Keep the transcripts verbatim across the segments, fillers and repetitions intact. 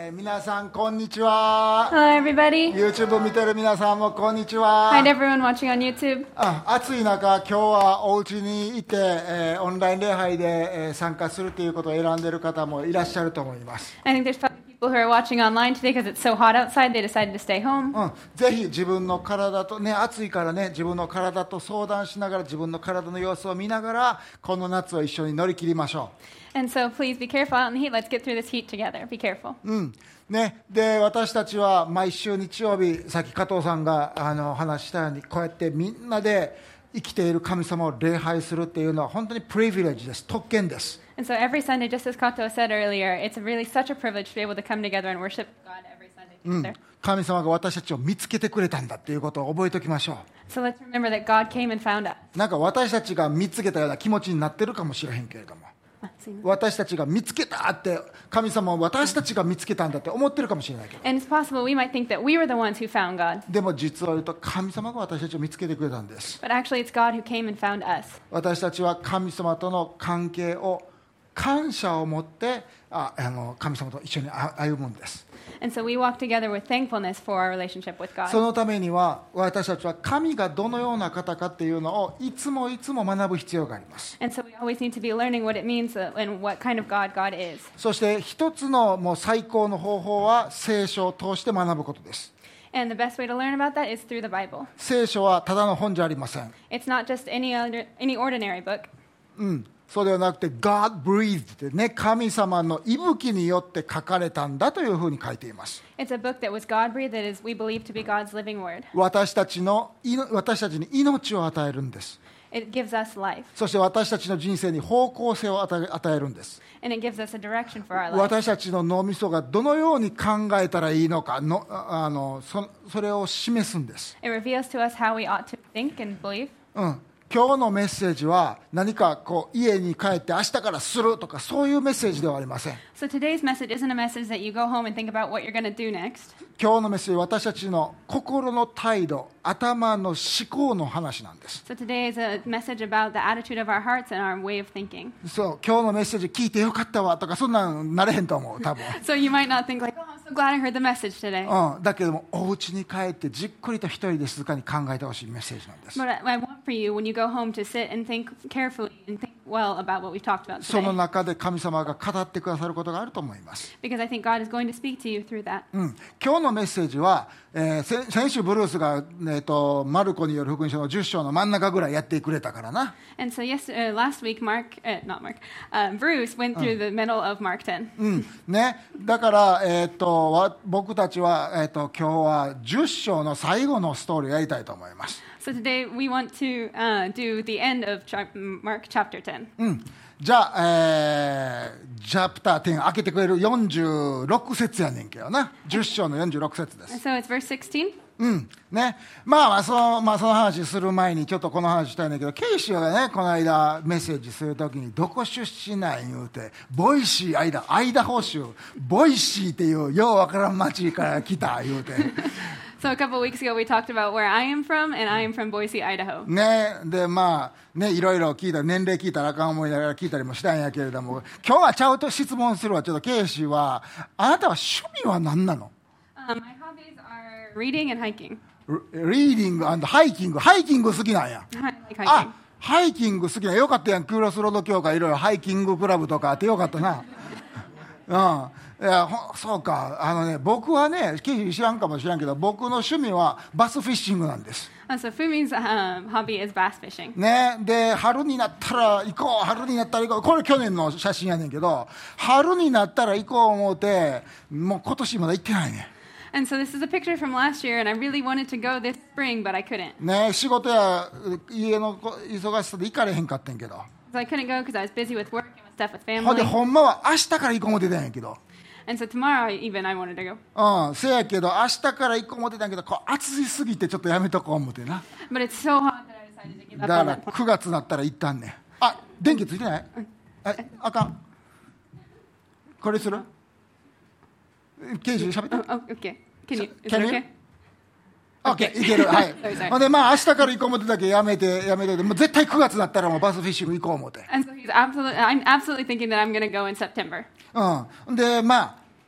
えー、皆さんこんにちは。 Hello, everybody. YouTube 見てる皆さんもこんにちは。 Hi to everyone watching on YouTube. あ暑い中、今日はお家にいて、えー、オンライン礼拝で、えー、参加するということを選んでいる方もいらっしゃると思います。 I think there's probably people who are watching online today because it's so hot outside, they decided to stay home. うん、ぜひ自分の体とね、暑いからね、自分の体と相談しながら、自分の体の様子を見ながら、この夏を一緒に乗り切りましょう。 And so please be careful out in the heat. Let's get through this heat together. Be careful. うんね、で私たちは毎週日曜日、さっき加藤さんがあの話したように、こうやってみんなで生きている神様を礼拝するっていうのは本当にプリビレッジです。特権です。 And so every Sunday, just as Kato said earlier, it's really such a privilege to be able to come together and worship God every Sunday うん together. 神様が私たちを見つけてくれたんだっていうことを覚えておきましょ So let's remember that God came and found us. う。なんか私たちが見つけたような気持ちになってるかもしれへんけれども、私たちが見つけたって、神様を私たちが見つけたんだって思ってるかもしれないけど、 And it's possible we might think that we were the ones who found God. でも実は言うと神様が私たちを見つけてくれたんです。 But actually, it's God who came and found us. 私たちは神様との関係を感謝を持ってああの神様と一緒に歩むんです。 And so we walk together with thankfulness for our relationship with God. そのためには私たちは神がどのような方かっていうのをいつもいつも学ぶ必要があります。 And so we always need to be learning what it means and what kind of God God is. そして一つのもう最高の方法は聖書を通して学ぶことです。 And the best way to learn about that is through the Bible. 聖書はただの本じゃありません。 It's not just any other, any ordinary book. うんそうではなくて God breathed ってね、神様の息吹によって書かれたんだというふうに書いています。 It's a book that was God-breathed that is we believe to be God's living word. 私たちの私たちに命を与えるんです。 It gives us life. そして私たちの人生に方向性を与え、与えるんです。 And it gives us a direction for our life. 私たちの脳みそがどのように考えたらいいのかのあの そ, それを示すんです。 It reveals to us how we ought to think and believe. うん今日のメッセージは何かこう家に帰って明日からするとかそういうメッセージではありません。 So today's message isn't a message that you go home and think about what you're going to do next. 今日のメッセージは私たちの心の態度、頭の思考の話なんです。 So today is a message about the attitude of our hearts and our way of thinking. そう今日のメッセージ聞いてよかったわとかそんなんなれへんと思う多分。 So you might not think like, oh, I'm so glad I heard the message today. うん、だけどもお家に帰ってじっくりと一人で静かに考えてほしいメッセージなんです。 But I, I want for you when you go home to sit and think carefully and think well about what we've talked about その today. 中で神様が語ってくださることがあると思います。 Because I think God is going to speak to you through that. うん、今日のメッセージは、えー、先, 先週ブルースが、えー、とマルコによる福音書のじゅっ章の真ん中ぐらいやってくれたからな。 And so yes, uh, last week, Mark, uh, not Mark, uh, Bruce went through the middle of Mark ten. うんね、だから、えー、とわ僕たちは、えー、と今日はじゅっ章の最後のストーリーをやりたいと思います。 So today we want to uh, do the end of chap- Mark chapter ten. うんじゃあ、えー、チャプターじゅう開けてくれるよんじゅうろく節やねんけどな。じゅっ章のよんじゅうろく節です。 So it's verse sixteen. うんね、まあまあその、まあ、その話する前にちょっとこの話したいんだけど、ケイシーがねこの間メッセージするときにどこ出身なん言うて、ボイシーアイダアイダホ州ボイシーっていうようわからん町から来た言うて So a couple of weeks ago we talked about where I am from, and I am from Boise, Idaho. ねでまあねいろいろ聞いた年齢聞いたらあかん思いながら聞いたりもしたんやけれども、今日はちゃうと質問するわ。ちょっとケイシーはあなたは趣味は何なの？ Um, my hobbies are reading and hiking. リーディング&ハイキング。ハイキング好きなんや。 I like hiking. あ、ハイキング好きなんや。よかったやん。クロスロード協会いろいろハイキングクラブとかあってよかったな。うん。いやほそうか。あのね、僕はね、ケイシー知らんかもしれんけど、僕の趣味はバスフィッシングなんです。 Uh, so Fumi's um, hobby is bass fishing. ね、で春になったら行こう春になったら行こう、これ去年の写真やねんけど、春になったら行こう思うて、もう今年まだ行ってないね。 And so this is a picture from last year, and I really wanted to go this spring, but I couldn't. ね、仕事や家の忙しさで行かれへんかってんけど、 So I couldn't go because I was busy with work and with stuff with ほんで family. ほんまは明日から行こう思ってたんやけど、 And so tomorrow even I wanted to go. うん、せやけど明日から行こう思ってたんやけど、こう暑いすぎてちょっとやめとこう思ってな。 But it's so hot that I decided to give だ up か on ら that. くがつになったら行ったんねん。あ、電気ついてない？あ、あかん。これする？ケイジ喋って。 Oh, oh, okay. Can you? Is Can it you? okay? オッケー、いける。はい。 Sorry, sorry. ほんでまあ明日から行こう思ってたけどやめてやめて、もう絶対くがつになったらもうバスフィッシング行こう思って。 And so he's absolutely, I'm absolutely thinking that I'm going to go in September. うん。でまあ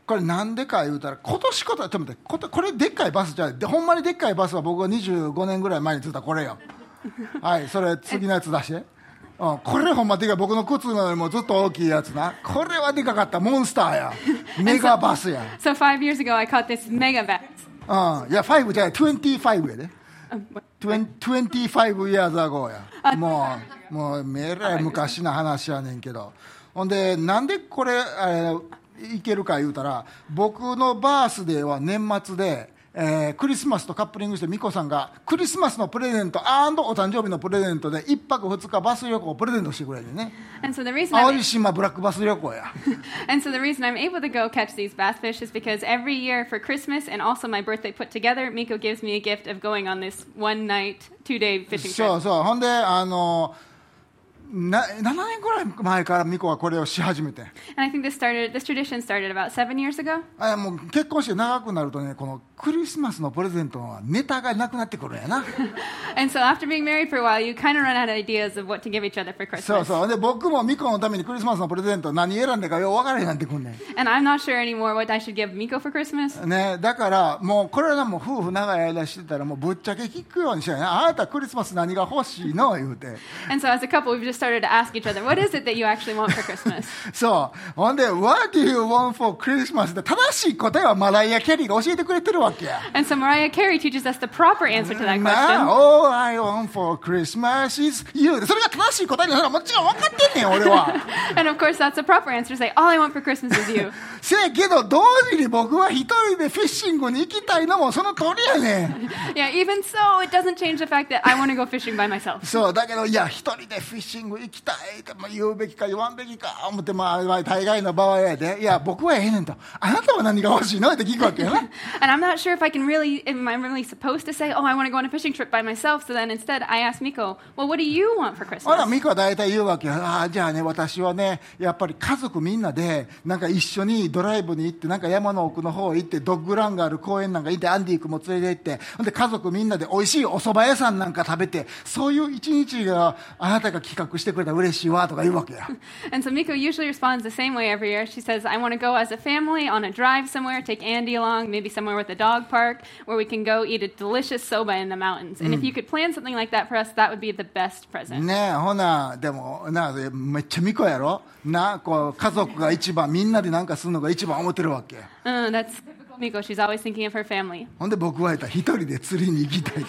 これなんでか言うたら、今年こと、ちょっと待って、ことこれでっかいバスじゃない、でほんまにでっかいバスは僕がにじゅうごねんぐらい前に作ったこれよ。はい、それ次のやつ出して。うん、これほんまでかい、僕の靴よりもずっと大きいやつな。これはでかかった、モンスターや。メガバスや。 So five years ago, I caught this mega bus. うん、いや、ごじゃない、にじゅうごやで。にじゅうご years ago や。もう、もう、めらい昔の話やねんけど。ほんで、なんでこれ、えー、いけるか言うたら、僕のバースデーは年末で、えー、クリスマスとカップリングして、ミコさんがクリスマスのプレゼント&お誕生日のプレゼントでいっぱくふつかバス旅行をプレゼントしてくれるね。 And so the reason 淡 I'm, 路島ブラックバス旅行や。 and so the reason I'm able to go catch these bass fish is because every year for Christmas and also my birthday put together, Miko gives me a gift of going on this one night, two day fishing trip. そうそう。ほんで、あのなななねんぐらい前からミコはこれをし始めて。 And I think this started, this tradition started about seven years ago. あ、もう結婚して長くなるとね、このクリスマスのプレゼントはネタがなくなってくるんやな。 And so after being married for a while, you kind of run out of ideas of what to give each other for Christmas. そうそう。で、僕もミコのためにクリスマスのプレゼント何選んでかよう分からへんなってくんねん。 And I'm not sure anymore what I should give Miko for Christmas. ね、だからもうこれはもう夫婦長い間してたらもうぶっちゃけ聞くようにしたいな。あなたクリスマス何が欲しいの言うて。 And so as a couple, we've just started to ask each other, what is it that you actually want for Christmas? そう。ほんで、What do you want for Christmas? って正しい答えはマライア・キャリーが教えてくれてるわけや。 And so Mariah Carey teaches us the proper answer to that な question. All I want for Christmas is you. それが正しい答えになるのはもちろん分かってんねん、俺は。 And of course, that's the proper answer to say, all I want for Christmas is you. せやけど、同時に僕は一人でフィッシングに行きたいのもその通りやねん。 Yeah, even so, it doesn't change the fact that I want to go fishing by myself. そう、だけど、いや、一人でフィッシング行きたいって、まあ、言うべきか言わんべきか思って、まあ、まあ、大概の場合やで、いや、僕はええねんと。あなたは何が欲しいのって聞くわけやな。 And I'm not sure if I can really, am I really supposed to say, oh, I want to go on a fishing trip by myself? So then instead, I ask Miko, well, what do you want for ほら、 Christmas? ミコは大体言うわけや。ああ、じゃあね、私はね、やっぱり家族みんなで、なんか一緒にドライブに行って、なんか山の奥の方行って、ドッグランがある公園なんか行って、アンディー君も連れて行って、ほんで家族みんなで美味しいお蕎麦屋さんなんか食べて、そういう一日があなたが企画してくれたら嬉しいわとか言うわけや。 And so Miko usually responds the same way every year. She says, I want to go as a family on a drive somewhere, take Andy along, maybe somewhere with a dog park, where we can go eat a delicious soba in the mountains. And if you could plan something like that for us, that would be the best present. ねえ、ほな、でも、な、めっちゃミコやろな、こう、家族が一番、みんなでなんかするのが一番思ってるわけ。 Uh, that's typical Miko. She's always thinking of her family. ほんで僕は言ったら一人で釣りに行きたいって。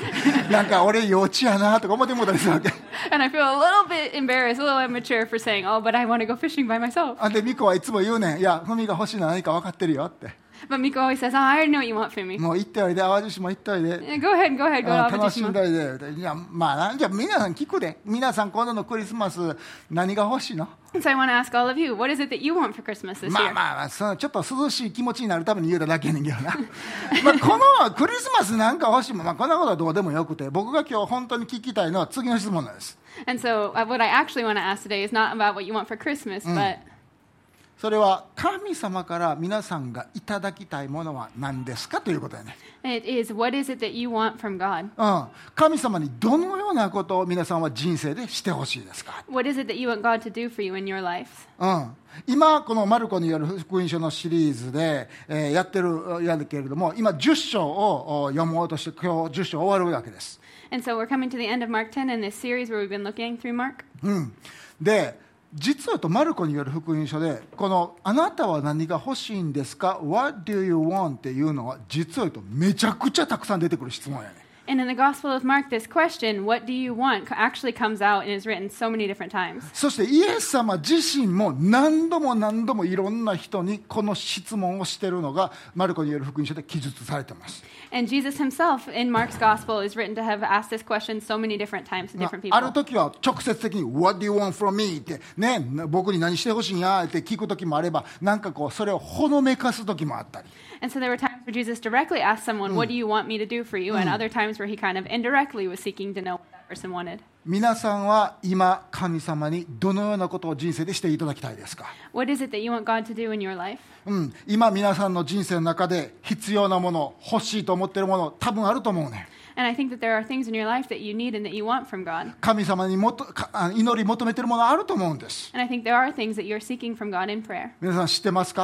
なんか俺幼稚やなとか思ってもうたりするわけ。 And I feel a little bit embarrassed, a little immature for saying, oh, but I want to go fishing by myself. あんでミコはいつも言うねん。いや、ふみが欲しいのは何か分かってるよって。 But Miko always says, oh, I already know what you want from me. もう行っておいで、淡路島行っておいで。 Yeah, go ahead, go ahead, go to 楽しん Avatishima. だいで。いや、まあな、じゃあ皆さん聞くで。皆さん今度のクリスマス何が欲しいの？ So I want to ask all of you, what is it that you want for Christmas this まあ year? まあまあ、そのちょっと涼しい気持ちになるために言うただけやねんけどな。まあこのクリスマスなんか欲しいもん、まあこんなことはどうでもよくて、僕が今日本当に聞きたいのは次の質問なんです。 And so uh, what I actually want to ask today is not about what you want for Christmas, but それは神様から皆さんがいただきたいものは何ですかということやね。 it is, what is it that you want from God? うん、神様にどのようなことを皆さんは人生でしてほしいですか。 What is it that you want God to do for you in your life? うん、今このマルコによる福音書のシリーズで、えー、やってるやるけれども、今じゅっ章を読もうとして今日じゅっ章終わるわけです。 And so we're coming to the end of Mark ten in this series where we've been looking through Mark. うん、で実はとマルコによる福音書でこのあなたは何が欲しいんですか What do you want っていうのは実はとめちゃくちゃたくさん出てくる質問やね。 And in the Gospel of Mark, this question, what do you want, actually comes out and is written so many different times. そしてイエス様自身も何度も何度もいろんな人にこの質問をしているのがマルコによる福音書で記述されています。 And Jesus himself in Mark's Gospel is written to have asked this question so many different times to different people. ある時は直接的に What do you want from me? ってね、僕に何してほしいんやって聞く時もあれば、なんかこうそれをほのめかす時もあったり。 And so there were times where Jesus directly asked someone, what do you want me to do for you? And other times where he kind of indirectly was seeking to know what that person wanted. 皆さんは今神様にどのようなことを人生でしていただきたいですか？ What is it that you want God to do in your life? うん、今皆さんの人生の中で必要なもの、欲しいと思っているもの多分あると思うね。 And I think that there are things in your life that you need and that you want from God. 神様にもとか祈り求めているものあると思うんです。 And I think there are things that you're seeking from God in prayer. 皆さん知ってますか？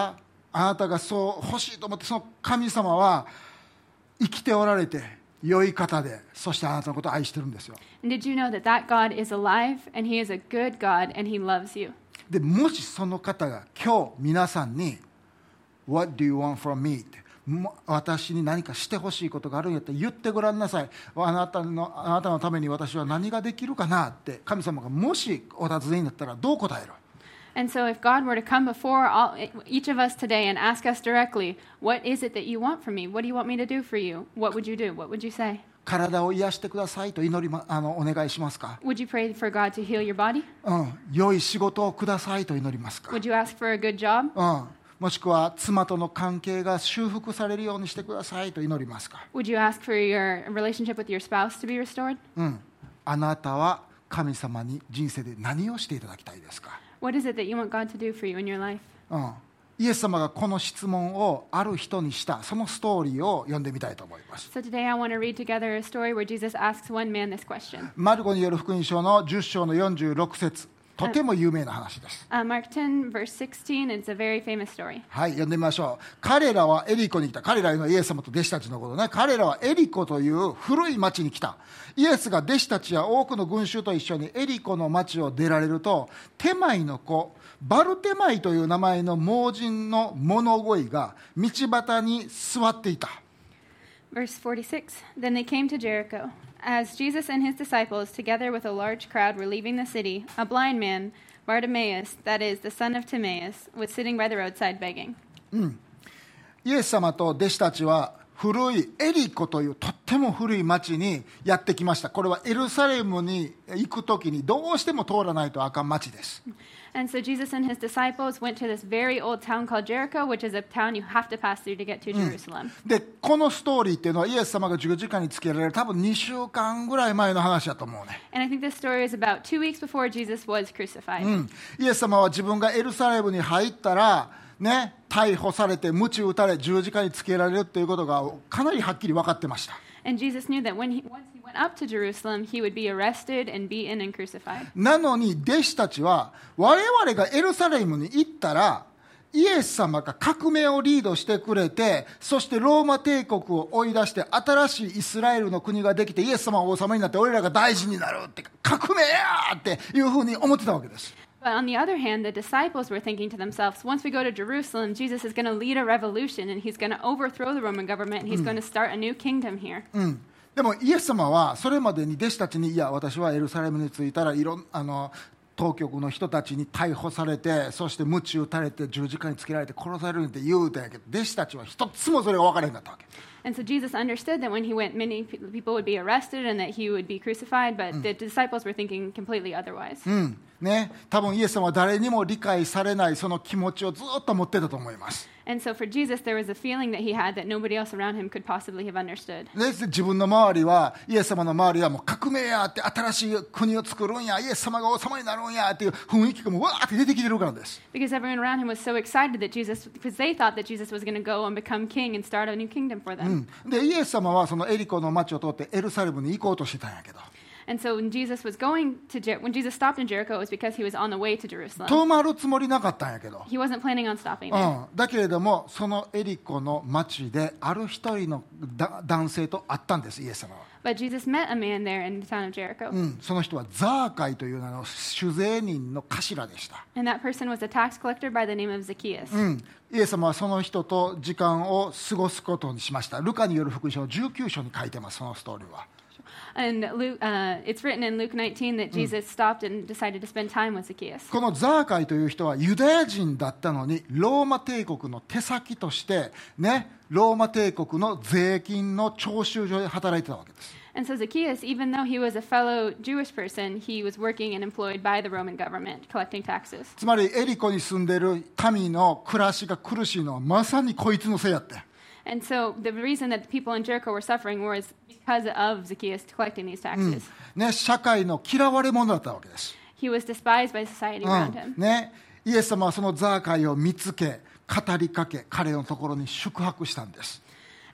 あなたがそう欲しいと思って、その神様は生きておられて良い方で、そしてあなたのことを愛してるんですよ。 And did you know that that God is alive and He is a good God and He loves you? でもしその方が今日皆さんに What do you want from me? って私に何かしてほしいことがあるんやったら言ってごらんなさい。あなたの、あなたのために私は何ができるかなって神様がもしお尋ねになったらどう答える？ And so if God were to come before all, each of us today and ask us directly, what is it that you want from me? What do you want me to do for you? What would you do? What would you say? 体を癒してくださいと祈り、ま、あのお願いしますか？ Would you pray for God to heal your body? うん、良い仕事をくださいと祈りますか？ Would you ask for a good job? うん、もしくは妻との関係が修復されるようにしてくださいと祈りますか？ Would you ask for your relationship with your spouse to be restored? うん、あなたは神様に人生で何をしていただきたいですか？ What is it that you want God to do for you in your life? うん、イエス様がこの質問をある人にしたそのストーリーを読んでみたいと思います。 So today I want to read together a story where Jesus asks one man this question. マルコによる福音書のじゅっ章のよんじゅうろく節、とても有名な話です。 Uh, Mark ten, verse sixteen, it's a very famous story. はい、読んでみましょう。彼らはエリコに来た。彼らのイエス様と弟子たちのことね。彼らはエリコという古い町に来た。イエスが弟子たちや多くの群衆と一緒にエリコの町を出られると、テマイの子バルテマイという名前の盲人の物乞いが道端に座っていた。 Verse forty-six, Then they came to Jericho. As Jesus and his disciples, together with a large crowd, were leaving the city, a blind man, Bartimaeus, that is, the son of Timaeus, was sitting by the roadside begging. イエス様と弟子たちは古いエリコというとっても古い町にやってきました。これはエルサレムに行くときにどうしても通らないとあかん町です。 And so Jesus and his disciples went to this very old town called Jericho, which is a town you have to pass through to get to Jerusalem. でこのストーリーっていうのはイエス様が十字架につけられる多分にしゅうかんぐらい前の話だと思うね。 And I think this story is about two weeks before Jesus was crucified. うん、イエス様は自分がエルサレムに入ったら、ね、逮捕されて鞭打たれ十字架につけられるということがかなりはっきり分かってました。 And Jesus knew that when he, once he went up to Jerusalem, he would be arrested and beaten and crucified. なのに弟子たちは我々がエルサレムに行ったらイエス様が革命をリードしてくれて、そしてローマ帝国を追い出して新しいイスラエルの国ができてイエス様が王様になって俺らが大事になるって革命やっていうふうに思ってたわけです。 But on the other hand, the disciples were thinking to themselves, once we go to Jerusalem, Jesus is going to lead a revolution and he's going to overthrow the Roman government and he's going to start a new kingdom here. うん、でもイエス様はそれまでに弟子たちに、いや私はエルサレムに着いたらいろんあの当局の人たちに逮捕されて、そして鞭打たれて十字架につけられて殺されるって言うたんやけど、弟子たちは一つもそれが分からへんかったわけ。 And so Jesus understood that when he went, many people would be arrested and that he would be crucified, but the disciples were thinking completely otherwise. うんね、多分イエス様は誰にも理解されないその気持ちをずっと持ってたと思います。 And so for Jesus, there was a feeling that he had that nobody else around him could possibly have understood. で自分の周りはイエス様の周りはもう革命やって新しい国を作るんや、イエス様が王様になるんやっていう雰囲気がもうわーって出てきてるからです。 Because everyone around him was so excited that Jesus, because they thought that Jesus was going to go and become king and start a new kingdom for them. うん、でイエス様はそのエリコの町を通ってエルサレムに行こうとしてたんやけど、 And so when Jesus was going to Jer- when Jesus stopped in Jericho, it was because he was on the way to Jerusalem. 止まるつもりなかったんやけど、 He wasn't planning on stopping う there. ん、だけれどもそのエリコの町である一人のだ男性と会ったんです、イエス様は。 But Jesus met a man there in the town of Jericho. うん、その人はザーカイという名の酒税人の頭でした。 And that person was a tax collector by the name of Zacchaeus. うん、イエス様はその人と時間を過ごすことにしました。ルカによる福音書のじゅうきゅう章に書いてます、そのストーリーは。 And Luke, uh, it's written in Luke nineteen that Jesus stopped and decided to spend time with Zacchaeus. このザーカイという人はユダヤ人だったのにローマ帝国の手先としてね、ローマ帝国の税金の徴収所で働いてたわけです。 And so Zacchaeus, even though he was a fellow Jewish person, he was working and employed by the Roman government, collecting taxes. つまりエリコに住んでる民の暮らしが苦しいのはまさにこいつのせいやって。 And so the reason that the people in Jericho were suffering was because of Zacchaeus collecting these taxes. ね、社会の嫌われ者だったわけです。 He was despised by society う around ん him. ね、イエス様はそのザーカイを見つけ語りかけ彼のところに宿泊したんです。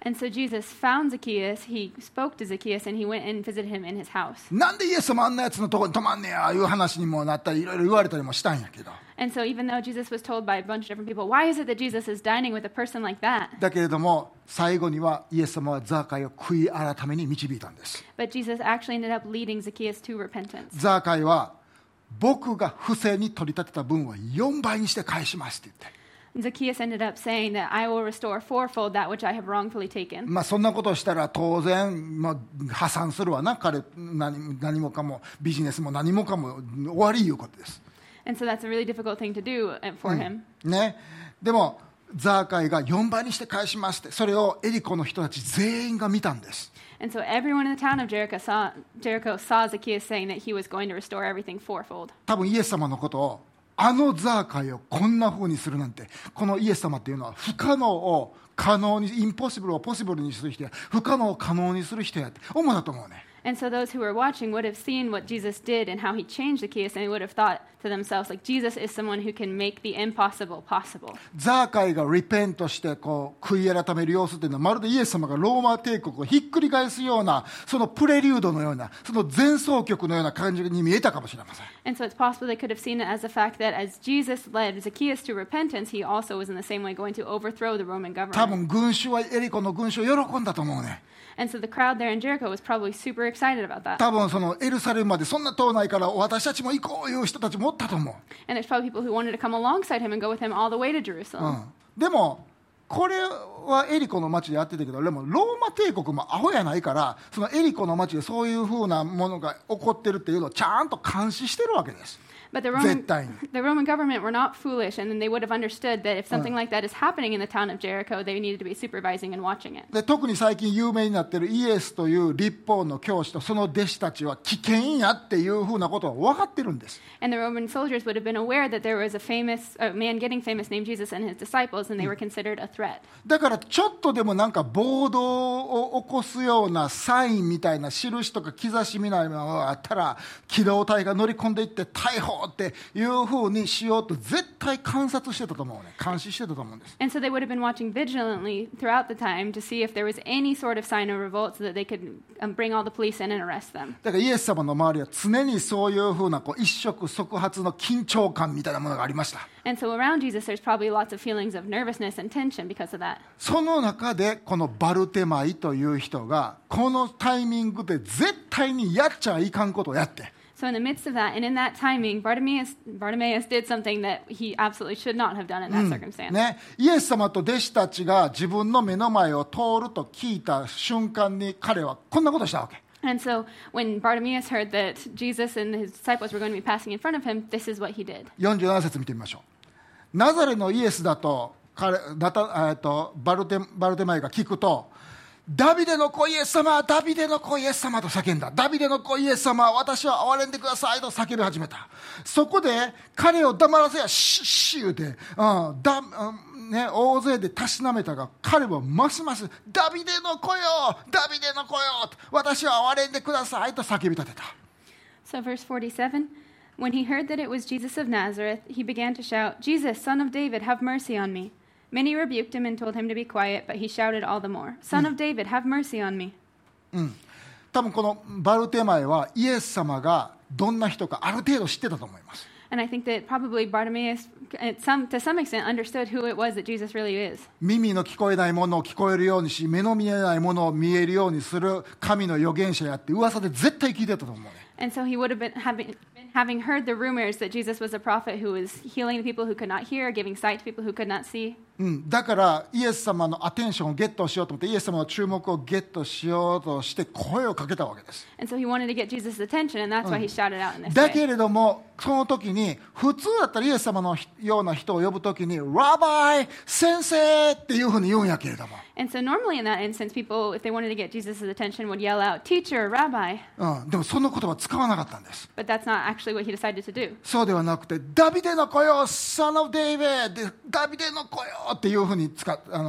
And so Jesus found Zacchaeus, he spoke to Zacchaeus, and he went and visited him in his house. なんでイエス様あんなやつのとこに泊まんねやいう話にもなったりいろいろ言われたりもしたんやけど、 And so even though Jesus was told by a bunch of different people, why is it that Jesus is dining with a person like that? だけれども最後にはイエス様はザーカイを悔い改めに導いたんです。 But Jesus actually ended up leading Zacchaeus to repentance. ザーカイは僕が不正に取り立てた分はよんばいにして返しますって言って、 Zacchaeus ended up saying that I will restore fourfold that which I have wrongfully taken. まあそんなことをしたら当然、まあ、破産するわな、彼 何, 何もかもビジネスも何もかも終わりいうことです。 And so that's a really difficult thing to do for him. ね、でもザーカイがよんばいにして返しますって、それをエリコの人たち全員が見たんです。 And so everyone in the town of Jericho saw, Jericho saw Zacchaeus saying that he was going to restore everything fourfold. 多分イエス様のことをあのザーカイをこんな風にするなんて、このイエス様っていうのは不可能を可能に、インポッシブルをポッシブルにする人や不可能を可能にする人やって思うだと思うね。 And so those who were watching would have seen what Jesus did and how he changed Zacchaeus, and they would have thought to themselves, like, Jesus is someone who can make the impossible possible. ザーカイがリペントしてこう悔い改める様子っていうのはまるでイエス様がローマ帝国をひっくり返すような、そのプレリュードのような、その前奏曲のような感じに見えたかもしれません。 And so it's possible they could have seen it as the fact that as Jesus led Zacchaeus to repentance, he also was in the same way going to overthrow the Roman 多 government. 分群衆はエリコの群衆を喜んだと思うね。 And so the crowd there in Jericho was probably super excited about that. 多分そのエルサレムまでそんな遠ないから私たちも行こういう人たちもおったと思う。 And there's probably people who wanted to come alongside him and go with him all the way to う Jerusalem. ん、でもこれはエリコの町でやってたけど、でもローマ帝国もアホやないから、そのエリコの町でそういうふうなものが起こってるっていうのをちゃんと監視してるわけです。 But the Roman, 絶対に。 the Roman government were not foolish, and then they would have understood that if something like that is happening in the town of Jericho, they needed to be supervising and watching it. で特に最近有名になっているイエスという律法の教師とその弟子たちは危険やっていうふうなことは分かってるんです。 And the Roman soldiers would have been aware that there was a famous a man getting famous named Jesus and his disciples, and they were considered a threat. だからちょっとでもなんか暴動を起こすようなサインみたいな印とか兆しみたいなのがあったら、機動隊が乗り込んでいって逮捕っていうふうにしようと絶対観察してたと思うね。監視してたと思うんです。 And so they would have been watching vigilantly throughout the time to see if there was any sort of sign of revolt so that they could um, bring all the police in and arrest them. だからイエス様の周りは常にそういうふうなこう一触即発の緊張感みたいなものがありました。 And so around Jesus, there's probably lots of feelings of nervousness and tension because of that. その中でこのバルテマイという人がこのタイミングで絶対にやっちゃいかんことをやって、 So in the midst of that, and in that timing, Bartimaeus, Bartimaeus did something that he absolutely should not have done in that circumstance. ね、イエス様と弟子たちが自分の目の前を通ると聞いた瞬間に彼はこんなことをしたわけ。 And so when Bartimaeus heard that Jesus and his disciples were going to be passing in front of him, this is what he did. よんじゅうなな節見てみましょう。ナザレのイエスだと彼だた、えっと、バルテ、バルテマイが聞くと、ダビデの子イエス様、ダビデの子イエス様と叫んだ。ダビデの子イエス様、私は憐れんでくださいと叫び始めた。そこで彼を黙らせやシッシュで、うんだうんね、大勢でたしなめたが、彼はますますダビデの子よ、ダビデの子よ、私は憐れんでくださいと叫び立てた。 So verse forty-seven, when he heard that it was Jesus of Nazareth, he began to shout, Jesus, son of David, have mercy on me. Many rebuked him and told him to be quiet, but he shouted all the more, Son of David, have mercy on me. うん、多分このバルテマイはイエス様がどんな人かある程度知ってたと思います。 And I think that probably Bartimaeus, at some, to some extent, understood who it was that Jesus really is. 耳の聞こえないものを聞こえるようにし、目の見えないものを見えるようにする神の預言者やって噂で絶対聞いてたと思うね。 And so he would have been having, been having heard the rumors that Jesus was a prophet who was healing the people who could not hear, giving sight to people who could not see. うん、だからイエス様のアテンションをゲットしようと思って、イエス様の注目をゲットしようとして声をかけたわけです。 And so he wanted to get Jesus' attention, and that's why he shouted out in this だけ way. れどもその時に普通だったらイエス様のような人を呼ぶ時にラバイ先生っていうふうに言うんやけれども、 And so normally in that instance, people, if they wanted to get Jesus' attention, would yell out, Teacher, Rabbi. うん、でもその言葉使わなかったんです。 But that's not actually what he decided to do. そうではなくて、ダビデの子よ、Son of David、ダビデの子よっていうふうに使っあの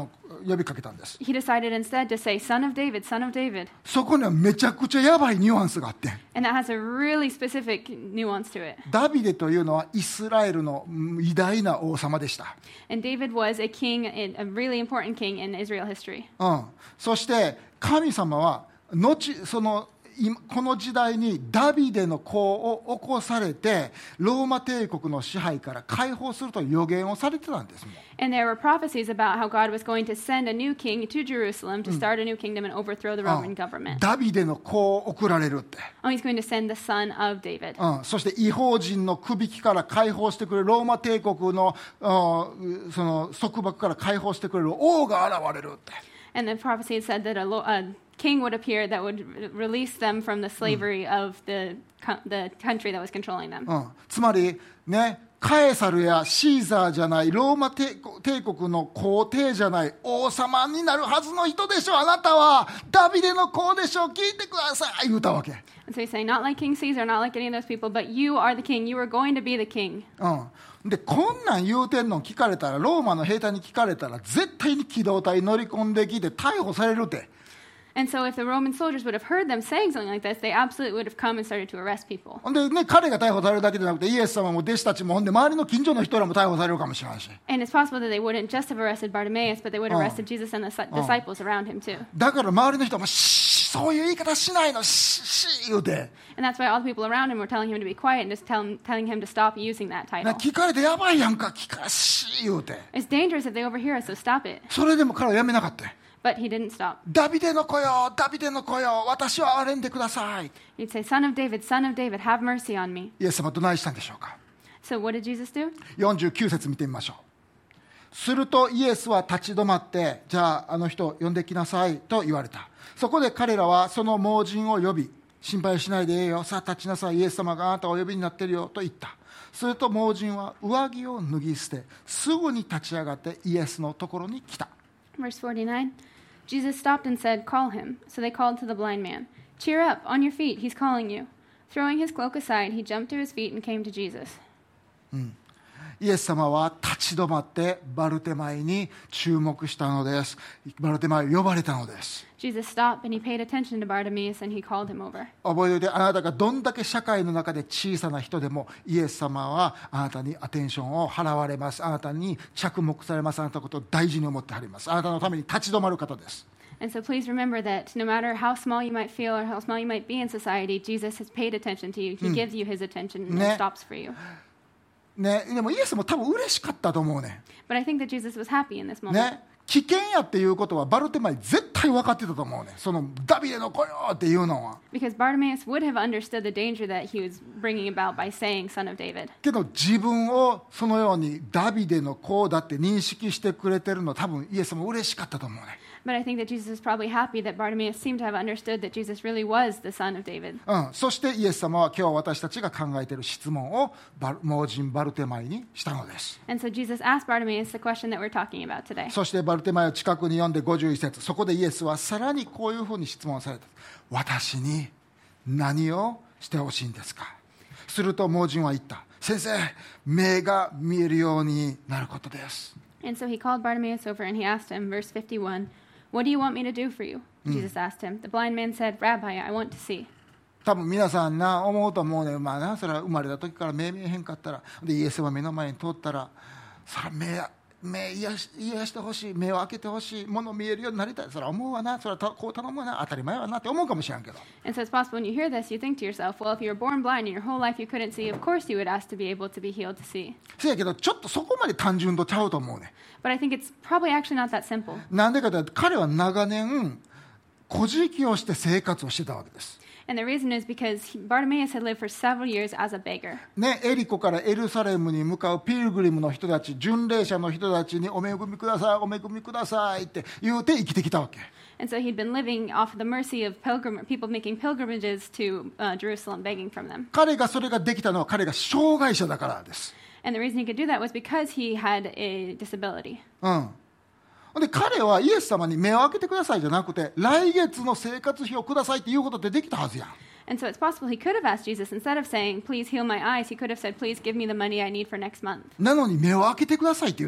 呼びかけたんです。 He decided instead to say, Son of David, Son of David. そこにはめちゃくちゃやばいニュアンスがあって、 And that has a really specific nuance to it. ダビデというのはイスラエルの偉大な王様でした。 And David was a king, a really important king in Israel history. うん、そして神様は後その今この時代にダビデの子を起こされてローマ帝国の支配から解放するという予言をされてたんですもん。 And there were prophecies about how God was going to send a new king to Jerusalem to start a new kingdom and overthrow the Roman government. ダビデの子を送られるって、 Oh, he's going to send the son of David. うん、そして異邦人の首輝きから解放してくれるローマ帝国の、うん、その束縛から解放してくれる王が現れるって。 And the prophecy had said that a, lo- a king would appear that would re- release them from the slavery of the, co- the country that was controlling them. うん、つまりね、カエサルやシーザーじゃないローマ帝国の皇帝じゃない王様になるはずの人でしょ、あなたはダビデの子でしょ、聞いてください言うたわけ。 And so he's saying, not like King Caesar, not like any of those people, but you are the king. You are going to be the king. うん、でこんなん言うてんの聞かれたら、ローマの兵隊に聞かれたら絶対に機動隊乗り込んできて逮捕されるって。 And so if the Roman soldiers would have heard them saying something like this, they absolutely would have come and started to arrest people. ほんでね、彼が逮捕されるだけじゃなくてイエス様も弟子たちもほんで周りの近所の人らも逮捕されるかもしれないし、 And it's possible that they wouldn't just have arrested Bartimaeus, but they would have arrested Jesus and the dis- disciples around him too. だから周りの人もシーそういう言い方しないのシーシー言うて、 And that's why all the people around him were telling him to be quiet and just tell him, telling him to stop using that な title. 聞かれてやばいやんか、聞かシー言うて、 It's dangerous if they overhear us, so stop it. それでも彼はやめなかった。 But he didn't stop. ダビデの子よ、ダビデの子よ、私を憐れんでください。 He'd say, Son of David, Son of David, have mercy on me. イエス様はどないしたんでしょうか。 So what did Jesus do? よんじゅうきゅう節見てみましょう。するとイエスは立ち止まって、じゃああの人呼んできなさいと言われた。そこで彼らはその盲人を呼び、心配しないでええよ、さあ立ちなさい、イエス様があなたをお呼びになっているよと言った。すると盲人は上着を脱ぎ捨て、すぐに立ち上がってイエスのところに来た。 Verse forty-nine. Jesus stopped and said, Call him. So they called to the blind man. Cheer up, on your feet, he's calling you. Throwing his cloak aside, he jumped to his feet and came to Jesus. イエス様は立ち止まってバルテマイに注目したのです。バルテマイを呼ばれたのです。 Jesus stopped and he paid attention to Bartimaeus and he called him over. 覚えておいて、あなたがどんだけ社会の中で小さな人でもイエス様はあなたにアテンションを払われます。あなたに着目されます。あなたのことを大事に思ってはります。あなたのために立ち止まる方です。 And so please remember that no matter how small you might feel or how small you might be in society, Jesus has paid attention to you. He gives you his attention and Ne. stops for you. ね、でもイエスも多分嬉しかったと思うね。 But I think that Jesus was happy in this moment. ね、危険やっていうことはバルテマイ絶対分かってたと思うね。そのダビデの子よっていうのは。 Because Bartimaeus would have understood the danger that he was bringing about by saying, Son of David. けど自分をそのようにダビデの子だって認識してくれてるの多分イエスも嬉しかったと思うね。 But I think that Jesus is probably happy that Bartimaeus seemed to have understood that Jesus really was the son of David. うん、そしてイエス様は今日私たちが考えている質問をバル盲人バルテマイにしたのです。 And so Jesus asked Bartimaeus the question that we're talking about today. そしてバルテマイを近くに呼んでごじゅういち節、そこでイエスはさらにこういうふうに質問された。私に何をしてほしいんですか。すると盲人は言った。先生、目が見えるようになることです。 And so he called Bartimaeus over and he asked him, verse fifty-one, What do you want me to do for you? Jesus asked him. The blind man said, Rabbi, I want to see. 多分皆さんな思うと思うね。まあな、それは生まれた時から目見えへんかったら、でイエスは目の前に通ったら、それは目目癒し癒してほしい、目を開けてほしい、物見えるようになりたい、それは思うわな、それはたこう頼むわな、当たり前はなって思うかもしれんけど。 And so it's possible when you hear this, you think to yourself, well, if you were born blind and your whole life you couldn't see, of course you would ask to be able to be healed to see. せやけどちょっとそこまで単純とちゃうと思うね。 But I think it's probably actually not that simple. なんでかというと彼は長年小じきをして生活をしてたわけです。 And the reason is because he, Bartimaeus had lived for several years as a beggar. ね、エリコからエルサレムに向かうピルグリムの人たち、巡礼者の人たちにお恵みください、お恵みくださいって言うて生きてきたわけ。 And so he'd been living off of the mercy of pilgrim, people making pilgrimages to uh, Jerusalem, begging from them. 彼がそれができたのは彼が障害者だからです。 And the reason he could do that was because he had a disability. うん。で彼はイエス様に目を開けてくださいじゃなくて、来月の生活費をくださいっていうことってできたはずやん。 And so it's possible he could have asked Jesus, instead of saying, please heal my eyes, he could have said, please give me the money I need for next month. なのに目を開けてくださいって言って。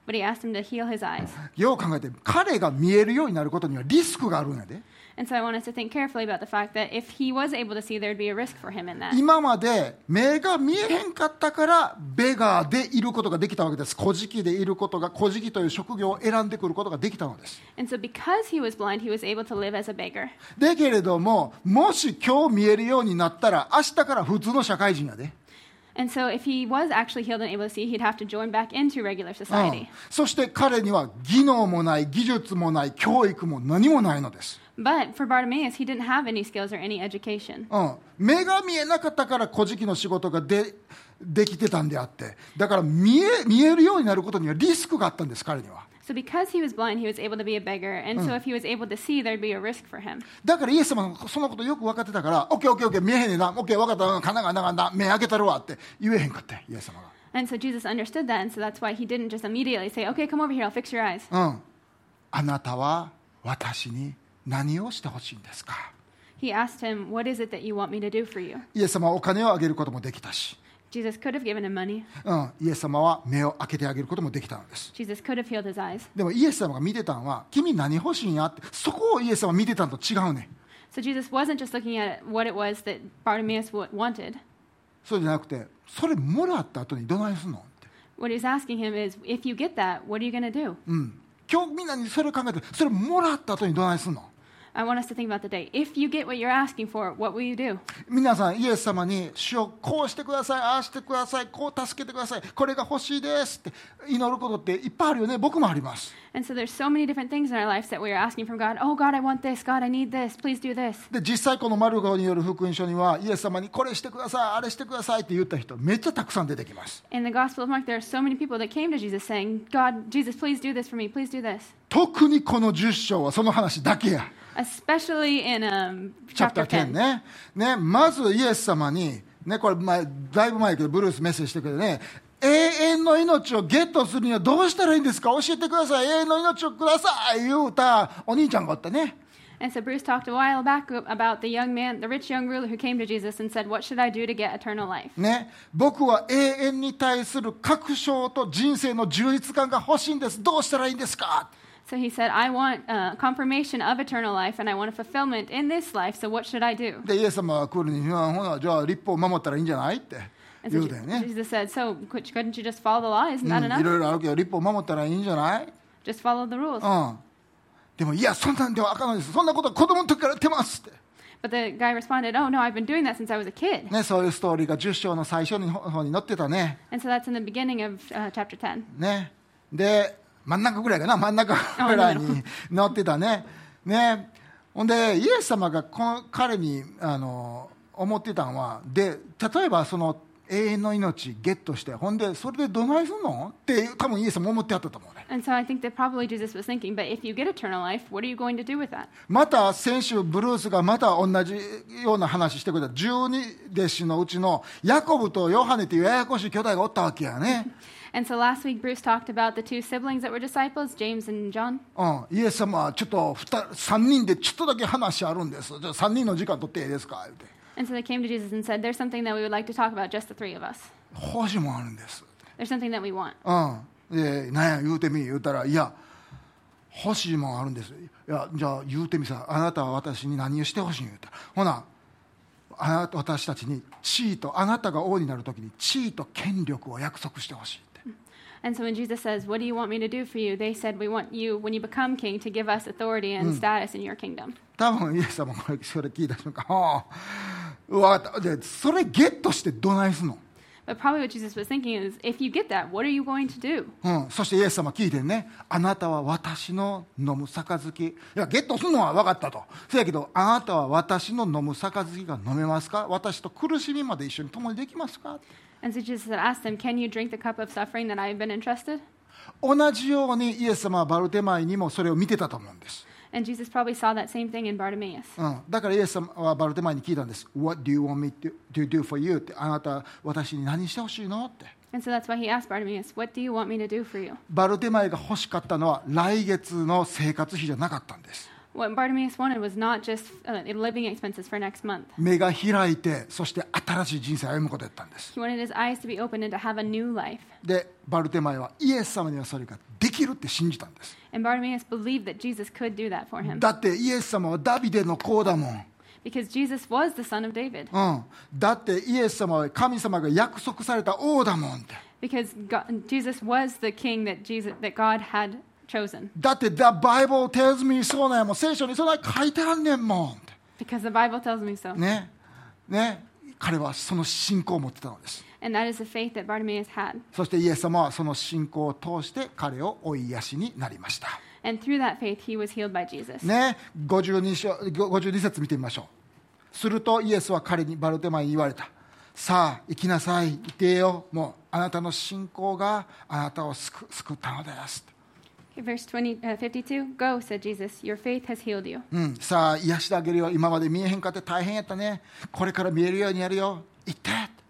but he asked him to heal his eyes. よう考えて、彼が見えるようになることにはリスクがあるんやで。 And so I want us to think carefully about the fact that if he was able to see, there would be a risk for him in that. 今まで目が見えへんかったからベガーでいることができたわけです。小敷でいることが、小敷という職業を選んでくることができたのです。 And so because he was blind, he was able to live as a beggar. だけれども、もし今日見えるようになったら明日から普通の社会人やで。 And so if he was actually healed and able to see, he'd have to join back into regular うん、 society. そして彼には技能もない、技術もない、教育も何もないのです。 But for Bartimaeus, he didn't have any skills or any education. うん、目が見えなかったから小敷の仕事がでできてたんであって、だから見え、見えるようになることにはリスクがあったんです、彼には。 So because he was blind, he was able to be a beggar. And so if he was able to see, there'd be a risk for him. だからイエス様がそのことよく分かってたから、オッケーオッケーオッケー、見えへんねんな、オッケー分かった、かながながな、目開けたるわって言えへんかった、イエス様が。 And so Jesus understood that, and so that's why he didn't just immediately say, okay, come over here, I'll fix your eyes. うん、あなたは私に何をしてほしいんですか。 He asked him, what is it that you want me to do for you? イエス様はお金をあげることもできたし、 Jesus could have given him money. うん、イエス様は目を開けてあげることもできたのです。 Jesus could have healed his eyes. でもイエス様が見てたのは、君何欲しいんやって、そこをイエス様は見てたのと違うね。 So Jesus wasn't just looking at what it was that Bartimaeus w- wanted. そうじゃなくて、それもらった後にどないすんのって。 What he's asking him is, if you get that, what are you going to do? うん、今日みんなにそれを考えて、それもらった後にどないすんの。 I want us to think about the day. If you get what you're asking for, what will you do? 皆さんイエス様に主をこうしてください、ああしてください、こう助けてください、これが欲しいですって祈ることっていっぱいあるよね。僕もあります。 And so there's so many different things in our lives that we are asking from God. Oh, God, I want this. God, I need this. Please do this. で実際このマルコによる福音書には、イエス様にこれしてください、あれしてくださいって言った人めっちゃたくさん出てきます。 In the Gospel of Mark, there are so many people that came to Jesus saying, God, Jesus, please do this for me. Please do this. 特にこのじゅっ章はその話だけや。 Especially in um, チャプタ chapter ーテン ten. ね。ね、まずイエス様に、ね、これ前だいぶ前やけどブルースメッセージしてくれてね、永遠の命をゲットするにはどうしたらいいんですか、教えてください、永遠の命をください言うたお兄ちゃんがおったね。 And so Bruce talked a while back about the young man, the rich young ruler who came to Jesus and said, what should I do to get eternal life? ね、僕は永遠に対する確証と人生の充実感が欲しいんです。どうしたらいいんですか。 So he said, I want uh, confirmation of eternal life and I want a fulfillment in this life, so what should I do? でイエス様は来るに、ほなじゃあ立法を守ったらいいんじゃないって言 And so うたよね。 Jesus said, so couldn't you just follow the law? Isn't う that ん、い enough? ろいろあるけど立法を守ったらいいんじゃない。 Just follow the rules. うん、でもいやそんなんではあかんのです。そんなことは子供の時からやってますって。 But the guy responded, oh, no, I've been doing that since I was a kid. ね、そういうストーリーがじゅっ章の最初の方に載ってたね。 And so that's in the beginning of uh, chapter ten. ね、で真ん中ぐらいかな、真ん中ぐらいに載ってたね。ね、ほんでイエス様がこの彼にあの思ってたのは、で例えばその永遠の命ゲットして、ほんでそれでどないすんのって多分イエス様思ってあったと思うね。 And so I think that probably Jesus was thinking, but if you get eternal life, what are you going to do with that? また先週ブルースがまた同じような話してくれたじゅうに弟子のうちのヤコブとヨハネというややこしい兄弟がおったわけやね。 And so last week, Bruce talked about the two siblings that were disciples, James and John. うん、イエス様はちょっとさんにんでちょっとだけ話あるんです。じゃあさんにんの時間取っていいですか言うて。 And so they came to Jesus and said, there's something that we would like to talk about, just the three of us. 欲しいもんあるんです。 There's something that we want. うん、で何や言うてみ言うたら、いや欲しいもんあるんです。いやじゃあ言うてみさ、あなたは私に何をしてほしいん言うたら、ほなあなた私たちに地位と、あなたが王になるときに地位と権力を約束してほしいって。 And so when Jesus says, what do you want me to do for you? They said, we want you, when you become king, to give us authority and status in your kingdom. 多分イエス様これそれ聞いた瞬間、はあ、分かった。でそれゲットしてどないすんの。 But probably what Jesus was thinking is, if you get that, what are you going to do? うん、そしてイエス様聞いてね、あなたは私の飲む杯、いやゲットするのは分かったと。そやけどあなたは私の飲む杯が飲めますか、私と苦しみまで一緒に共にできますか。 And so Jesus had asked them, can you drink the cup of suffering that I have been entrusted? 同じようにイエス様はバルテマイにもそれを見てたと思うんです。 And Jesus probably saw that same thing in Bartimaeus. うん、だからイエス様はバルテマイに聞いたんです。 What do you want me to, to do for you? って、あなた私に何してほしいのって。 And so that's why he asked Bartimaeus, what do you want me to do for you? バルテマイが欲しかったのは来月の生活費じゃなかったんです。 What Bartimaeus wanted was not just uh, living expenses for next month. 目が開いて、そして新しい人生を歩むことだったんです。 He wanted his eyes to be opened and to have a new life. で、バルテマイはイエス様にはそれができるって信じたんです。 And Bartimaeus believed that Jesus could do that for him. だってイエス様はダビデの子だもん。 Because Jesus was the son of David. うん、だってイエス様は神様が約束された王だもんって。 Because God, Jesus was the king that Jesus that God had chosen. だって The Bible tells me そうなんやもん。聖書にそんな書いてあんねんもんって。 Because the Bible tells me so. ね、ね、彼はその信仰を持ってたのです。 And that is the faith that Bartimaeus had. そしてイエス様はその信仰を通して彼を追い癒しになりました。 And through that faith, he was healed by Jesus. ね、ごじゅうに章、ごじゅうに節見てみましょう。するとイエスは彼にバルテマイに言われた。さあ行きなさい、行ってよ。もうあなたの信仰があなたを救救ったのです。 Okay, verse twenty, uh, fifty-two. Go, said Jesus. Your faith has healed you. うん、さあ癒してあげるよ。今まで見えへんかって大変やったね。これから見えるようにやるよ。行って。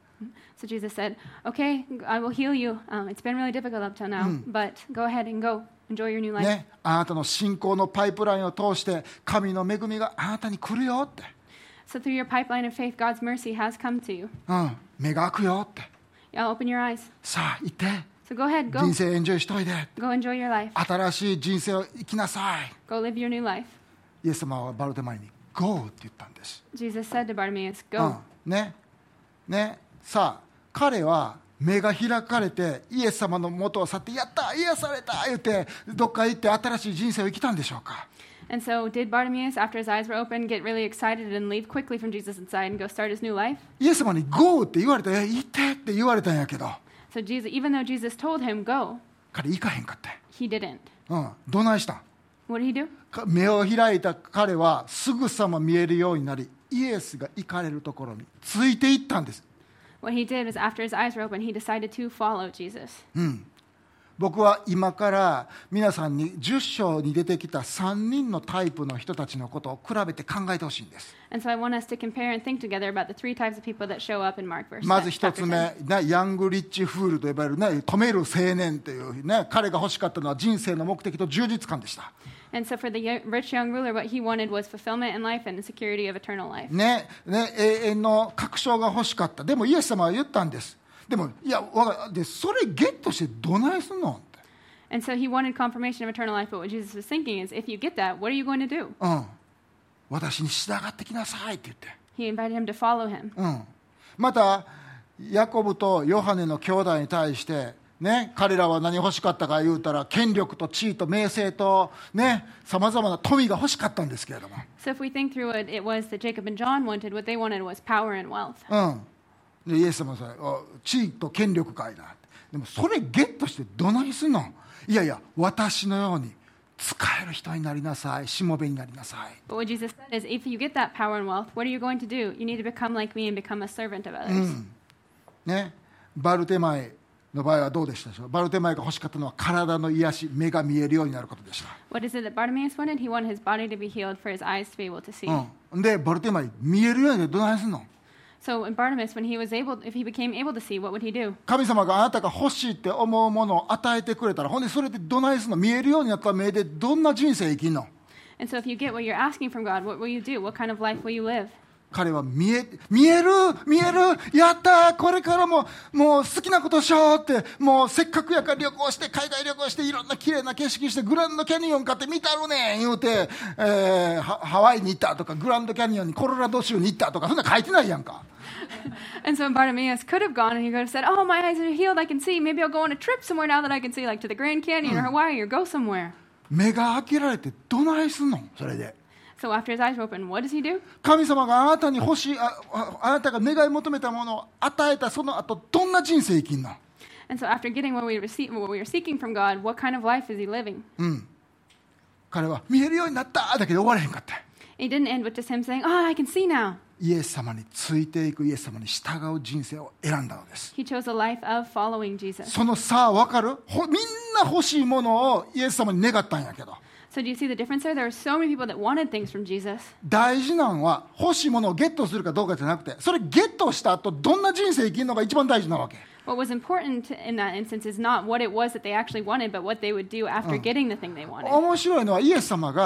So Jesus said, okay, I will heal you. Um, it's been really difficult up till now, but go ahead and go. Enjoy your new life. ね、あなたの信仰のパイプラインを通して神の恵みがあなたに来るよって。 So through your pipeline of faith, God's mercy has come to you. うん、目が開くよって。 Yeah, open your eyes. さあ行って。 So go ahead, go. 人生エンジョイしといで。 Go enjoy your life. 新しい人生を生きなさい。 Go live your new life. イエス様はバルテマイに Go って言ったんです。 Jesus said to Bartimaeus, う go. ん、ね、ね、さあ彼は目が開かれてイエス様の元を去ってやった癒された言ってどっか行って新しい人生を生きたんでしょうか。 And so did Bartimaeus, after his eyes were open, get really excited and leave quickly from Jesus' side and go start his new life? イエス様に Go って言われた。行ってって言われたんやけど So Jesus, even though Jesus told him, go, 彼行かへんかって。 he didn't. うん、どないしたん。 What did he do? 目を開いた彼はすぐさま見えるようになりイエスが行かれるところについていったんです。 What he did was after his eyes were open, he decided to follow Jesus. うん、僕は今から皆さんにじゅっ章に出てきたさんにんのタイプの人たちのことを比べて考えてほしいんです。 And so I want us to compare and think together about the three types of people that show up in Mark verse まず一 chapter つ目、 ten. ね、ヤングリッチフールと呼ばれる、ね、止める青年という、ね、彼が欲しかったのは人生の目的と充実感でした。 And so for the yo- rich young ruler, what he wanted was fulfillment in life and the security of eternal life. ねね、永遠の確証が欲しかった。でもイエス様は言ったんです。でもいやわでそれゲットしてどないすんのって。 And so he wanted confirmation of eternal life, but what Jesus was thinking is, if you get that, what are you going to do? うん、私に従ってきなさいって言って。 He invited him to follow him. うん、またヤコブとヨハネの兄弟に対してね、彼らは何欲しかったか言うたら権力と地位と名声とね、さまざまな富が欲しかったんですけれども、 So if we think through it, it was that Jacob and John wanted, what they wanted was power and wealth. うん、でイエス様はそれ地位と権力かいな。でもそれゲットしてどないすんの。いやいや私のように使える人になりなさい、しもべになりなさい。 But what Jesus said is, if you get that power and wealth, what are you going to do? You need to become like me and become a servant of others. うんね、バルテマイの場合はどうでしたでしょう。バルテマイが欲しかったのは体の癒し、目が見えるようになることでした。 What is it that Bartimaeus wanted? He wanted his body to be healed for his eyes to be able to see. うん、でバルテマイ見えるようになるどないすんの。 So in Bartimaeus, when he was able, if he became able to see, what would he do? 神様があなたが欲しいって思うものを与えてくれたら、ほんでそれでどないすんの。見えるようになった目でどんな人生生きんの。 And so if you get what you're asking from God, what will you do? What kind of life will you live? 彼は見え、見える見えるやったこれからももう好きなことしようって、もうせっかくやから旅行して海外旅行していろんな綺麗な景色してグランドキャニオン買って見たるねん言うて、えー、ハワイに行ったとかグランドキャニオンにコロラド州に行ったとかそんな書いてないやんか。 And so Bartimaeus could have gone and he could have said, oh, my eyes are healed, I can see. Maybe I'll go on a trip somewhere now that I can see, like to the Grand Canyon or Hawaii, or go somewhere. 目が開けられてどないすんのそれで。 So after his eyes were open, what does he do? 神様があなたに欲しい あ, あ, あなたが願い求めたものを与えたその後どんな人生生きんの。 And so after getting what we, receive, what we were seeking from God, what kind of life is he living? うん、彼は見えるようになっただけで終われへんかった。 It didn't end with just him saying, oh, I can see now. イエス様についていく、イエス様に従う人生を選んだのです。 He chose a life of following Jesus. その差分かる？ほみんな欲しいものをイエス様に願ったんやけど、 So do you see the difference there? There were so many people that wanted things from Jesus. 大事なのは欲しいものをゲットするかどうかじゃなくて、それゲットした後どんな人生生きるのが一番大事なわけ。 What was important in that instance is not what it was that they actually wanted, but what they would do after getting the thing they wanted. 面白いのはイエス様が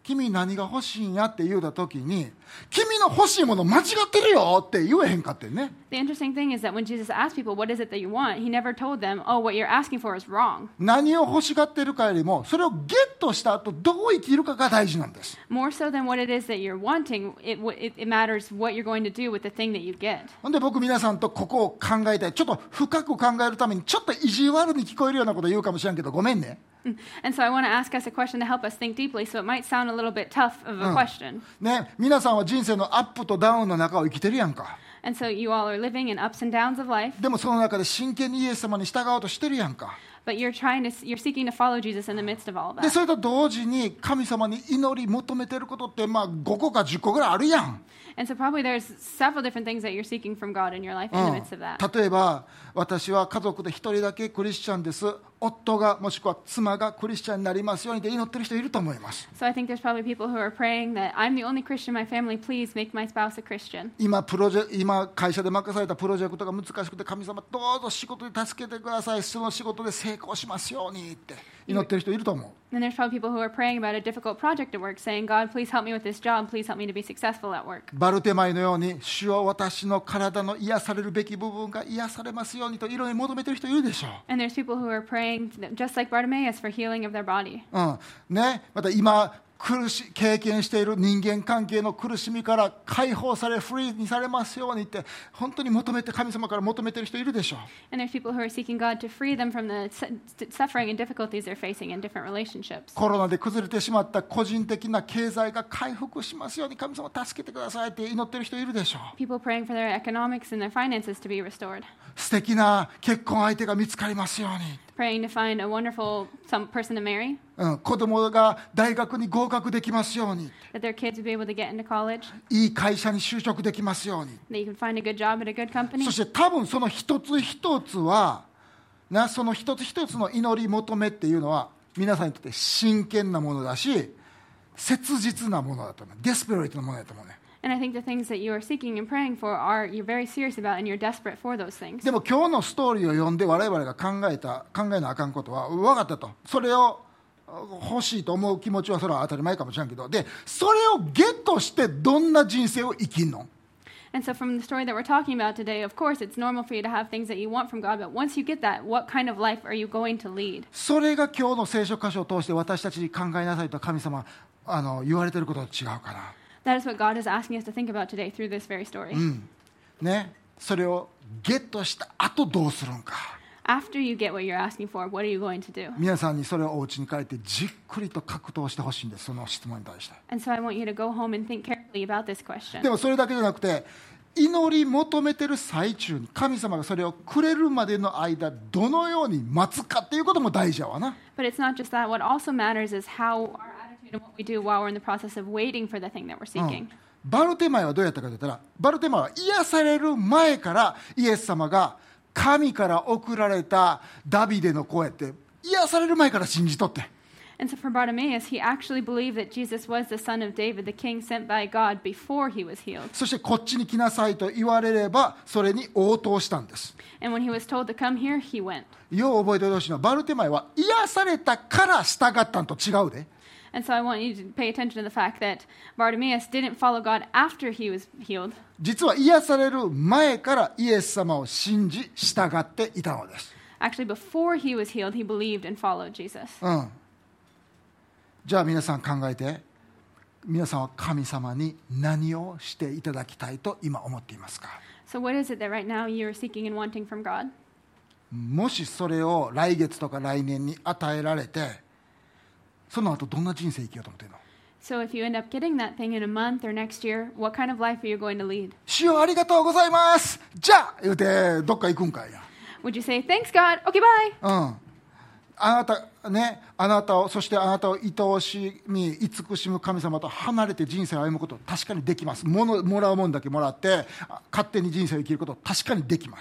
君何が欲しいんやって言うた時に、君の欲しいもの間違ってるよって言えへんかってんね。 The interesting thing is that when Jesus asked people, what is it that you want? He never told them, oh, what you're asking for is wrong. 何を欲しがってるかよりも、それをゲットした後どう生きるかが大事なんです。 More so than what it is that you're wanting, it, it, it matters what you're going to do with the thing that you get. ほんで僕皆さんとここを考えたい。ちょっと深く考えるためにちょっと意地悪に聞こえるようなこと言うかもしれんけど、ごめんね。 And so I want to ask us a question to help us think deeply, so it might sound a little bit tough of a question. ね、皆さんは人生のアップとダウンの中を生きてるやんか。 And so you all are living in ups and downs of life, でもその中で真剣にイエス様に従おうとしてるやんか。 but you're trying to, you're seeking to follow Jesus in the midst of all of で that. それと同時に神様に祈り求めてることってまあごこかじゅっこぐらいあるやん。 And so probably there's several different things that you're seeking from God in your life in the midst of that. 例えば私は家族で一人だけクリスチャンです、夫がもしくは妻がクリスチャンになりますようにって祈ってる人いると思います。 So I think there's probably people who are praying that I'm the only Christian in my family, please make my spouse a Christian. 今プロジェ今会社で任されたプロジェクトが難しくて、神様どうぞ仕事で助けてください、その仕事で成功しますようにって祈ってる人いると思う。 And there's probably people who are praying about a difficult project at work, saying, God, please help me with this job, please help me to be successful at work. バルテマイのように、主よ私の体の癒されるべき部分が癒されますようにといろいろ求めてる人いるでしょう。 And there's people who are praying, just like Bartimaeus, for healing of their body. うんね、また今苦し経験している人間関係の苦しみから解放されフリーにされますようにって本当に求めて、神様から求めている人いるでしょう。 And there's people who are seeking God to free them from the su- suffering and difficulties they're facing in different relationships. コロナで崩れてしまった個人的な経済が回復しますように神様助けてくださいって祈っている人いるでしょう。 People praying for their economics and their finances to be restored. 素敵な結婚相手が見つかりますように、 Praying to find a wonderful some person to marry, うん、子供が大学に合格できますように、 that their kids would be able to get into college, いい会社に就職できますように。 that you can find a good job at a good company. そして多分その一つ一つはな、その一つ一つの祈り求めっていうのは皆さんにとって真剣なものだし、切実なものだと思う。デスペレートなものだと思うね。 And I think the things that you are seeking and praying for are you're very serious about and you're desperate for those things. でも今日のストーリーを読んで我々が考えた考えなあかんことは分かったと。それを欲しいと思う気持ちはそれは当たり前かもしれんけど、でそれをゲットしてどんな人生を生きんの？ And so from the story that we're talking about today, of course, it's normal for you to have things that you want from God, but once you get that, what kind of life are you going to lead? それが今日の聖書箇所を通して私たちに考えなさいと神様あの言われていることと違うかな。 That is what God is asking us to think about today through this very story. うんね、それをゲットした後どうするんか。 After you get what you're asking for, what are you going to do? 皆さんにそれをお家に帰ってじっくりと格闘してほしいんです、その質問に対して。 And so I want you to go home and think carefully about this question. でもそれだけじゃなくて、祈り求めてる最中に神様がそれをくれるまでの間どのように待つかっていうことも大事やわな。 But it's not just that. What also matters is how our attitude and what we do while we're in the process of waiting for the thing that we're seeking. バルテマイはどうやったかといったら、バルテマイは癒される前からイエス様が神から送られたダビデの声って癒される前から信じとって。 And so for Bartimaeus, he actually believed that Jesus was the son of David, the king sent by God before he was healed. そしてこっちに来なさいと言われればそれに応答したんです。 And when he was told to come here, he went. よう覚えておいてほしいのは、バルテマイは癒されたから従ったんと違うで。 And so I want you to pay attention to the fact that Bartimaeus didn't follow God after he was healed. 実は癒される前からイエス様を信じ従っていたのです。 Actually, before he was healed, he believed and followed Jesus. うん、じゃあ皆さん考えて、皆さんは神様に何をしていただきたいと今思っていますか？ So what is it that right now you are seeking and wanting from God? もしそれを来月とか来年に与えられて、その後どんな人生生きようと思っているの？ So if you end up getting that thing in a month or next year, what kind of life are you going to lead? 主よありがとうございます、じゃあ言うてどっか行くんかいや。 Would you say, thanks God, okay, bye? うんあなたね、あなたをそしてあなたを愛おしみ慈しむ神様と離れて人生を歩むこと確かにできます。ものもらうもんだけもらって勝手に人生を生きること確かにできます。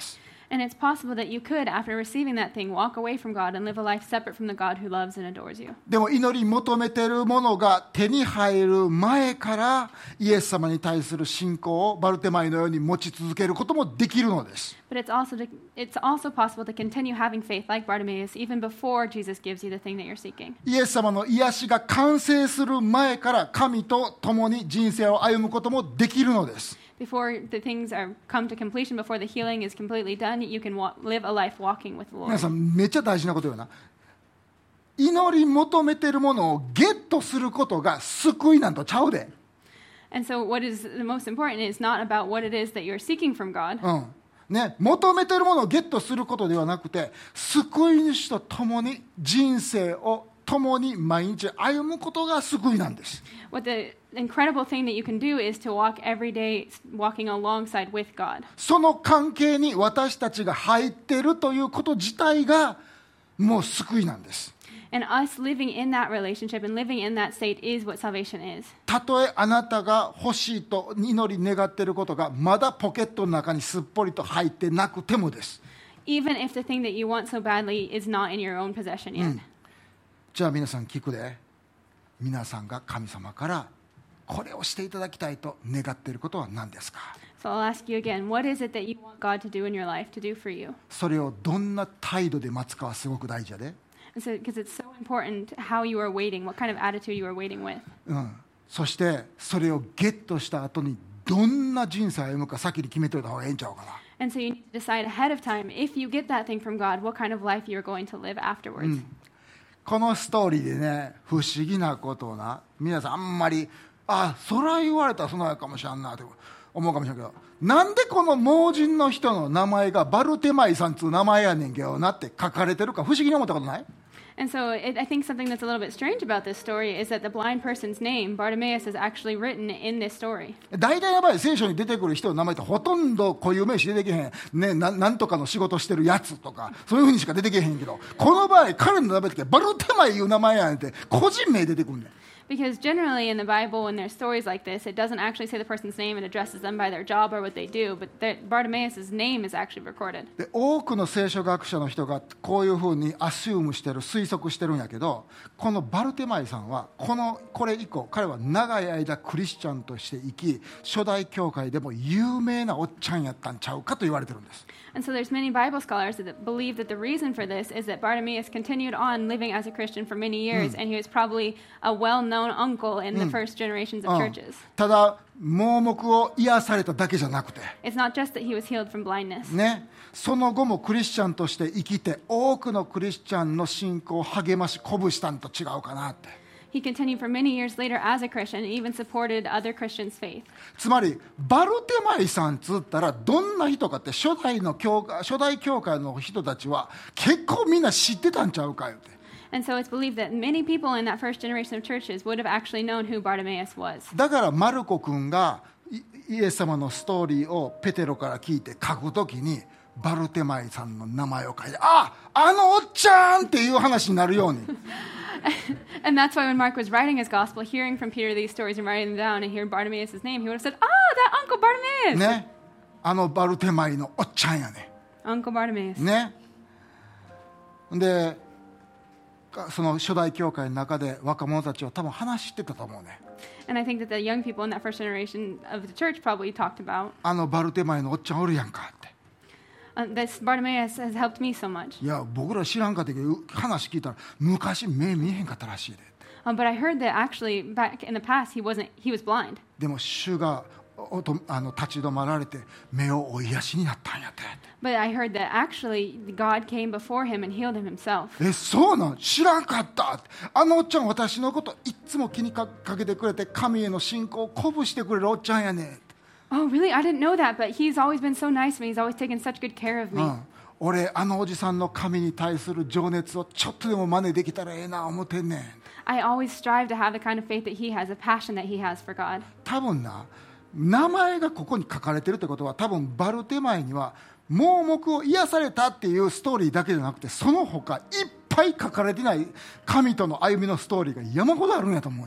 And it's possible that you could, after receiving that thing, walk away from God and live a life separate from the God who loves and adores you. でも祈り求めているものが手に入る前からイエス様に対する信仰をバルテマイのように持ち続けることもできるのです。 But it's also to, it's also possible to continue having faith like Bartimaeus even before Jesus gives you the thing that you're seeking. イエス様の癒しが完成する前から神と共に人生を歩むこともできるのです。 Before the things are come to completion, before the healing is completely done, you can wa- live a life walking with the 皆 Lord. さんめっちゃ大事なことよな。祈り求めているものをゲットすることが救いなんとちゃうで。 And so what is the most important is not about what it is that you're seeking from God. うんね、求めているものをゲットすることではなくて、救い主と共に人生を共に毎日歩むことが救いなんです。 What the incredible thing that you can do is to walk every day walking alongside with God. その関係に私たちが入っているということ自体がもう救いなんです。 And us living in that relationship and living in that state is what salvation is. たとえあなたが欲しいと祈り願っていることがまだポケットの中にすっぽりと入ってなくてもです。 Even if the thing that you want so badly is not in your own possession yet. じゃあ皆さん聞くで。皆さんが神様からこれをしていただきたいと願っていることは何ですか？ So I'll ask you again, what is it that you want God to do in your life, to do for you? それをどんな態度で待つかはすごく大事やで。 Because so, it's so important how you are waiting, what kind of attitude you are waiting with. うん、そしてそれをゲットした後にどんな人生を歩むか先に決めておいた方がいいんちゃうかな。 And so you need to decide ahead of time, if you get that thing from God, what kind of life you're going to live afterwards. うん、このストーリーでね、不思議なことをな、皆さんあんまりあ、そら言われたらそのやかもしれんなと思うかもしれんけど、なんでこの盲人の人の名前がバルテマイさんつう名前やねんけどなって書かれてるか不思議に思ったことない？ And so it, I think something that's a little bit strange about this story is that the blind person's name, Bartimaeus, is actually written in this story. 大体の場合聖書に出てくる人の名前ってほとんど固有名詞出てけへん、ね、な, なんとかの仕事してるやつとかそういうふうにしか出てけへんけど、この場合彼の名前ってバルテマイいう名前やねんって個人名出てくるねん。 Because generally in the Bible, when there's stories like this, it doesn't actually say the person's name and addresses them by their job or what they do, but Bartimaeus' name is actually recorded. で多くの聖書学者の人がこういうふうにアシュームしてる、推測してるんやけど、このバルテマイさんはこのこれ以降彼は長い間クリスチャンとして生き、初代教会でも有名なおっちゃんやったんちゃうかと言われてるんです。 And so there's many Bible scholars that believe that the reason for this is that Bartimaeus continued on living as a Christian for many years, and he was probably a well-known uncle in the first generations of churches. ただ盲目を癒されただけじゃなくて、 It's not just that he was healed from blindness. ね、その後もクリスチャンとして生きて多くのクリスチャンの信仰を励まし鼓舞したんと違うかなって。 He continued for many years later as a Christian and even supported other Christians' faith. つまりバルテマイさんつったらどんな人かって初代の教会、初代教会の人たちは結構みんな知ってたんちゃうかよって。 And so it's believed that many people in that first generation of churches would have actually known who Bartimaeus was. だからマルコ君がイエス様のストーリーをペテロから聞いて書くときにバルテマイさんの名前を書いて、あ、あのおっちゃんっていう話になるように。 And that's why when Mark was writing his gospel, hearing from Peter these stories and writing them down and hearing Bartimaeus' name, he would have said, ah, that Uncle Bartimaeus! ね、あのバルテマイのおっちゃんやね。 Uncle Bartimaeus. ね。で、その初代教会の中で若者たちは多分話してたと思うね。 And I think that the young people in that first generation of the church probably talked about, あのバルテマイのおっちゃんおるやんかって。 Uh, this Bartimaeus has helped me so much. いや僕ら知らんかったけど話聞いたら昔目見えへんかったらしいで。 Um, but I heard that actually back in the past he wasn't he was blind. でも主があの立ち止まられて目をお癒しになったんやって。 But I heard that actually God came before him and healed him himself. え、そうなん？知らんかった。あのおっちゃん私のこといつも気にかけてくれて神への信仰を鼓舞してくれるおっちゃんやね。 Oh, really? I didn't know that, but he's always been so nice to me. He's always taken such good care of me. うん、 俺あのおじさんの神に対する情熱をちょっとでも真似できたらええな思ってんねん。 I always strive to have the kind of faith that he has, a passion that he has for God. 多分な、名前がここに書かれてるってことは多分バルテマイには盲目を癒されたっていうストーリーだけじゃなくてその他いっぱい書かれてない神との歩みのストーリーが山ほどあるんやと思うね。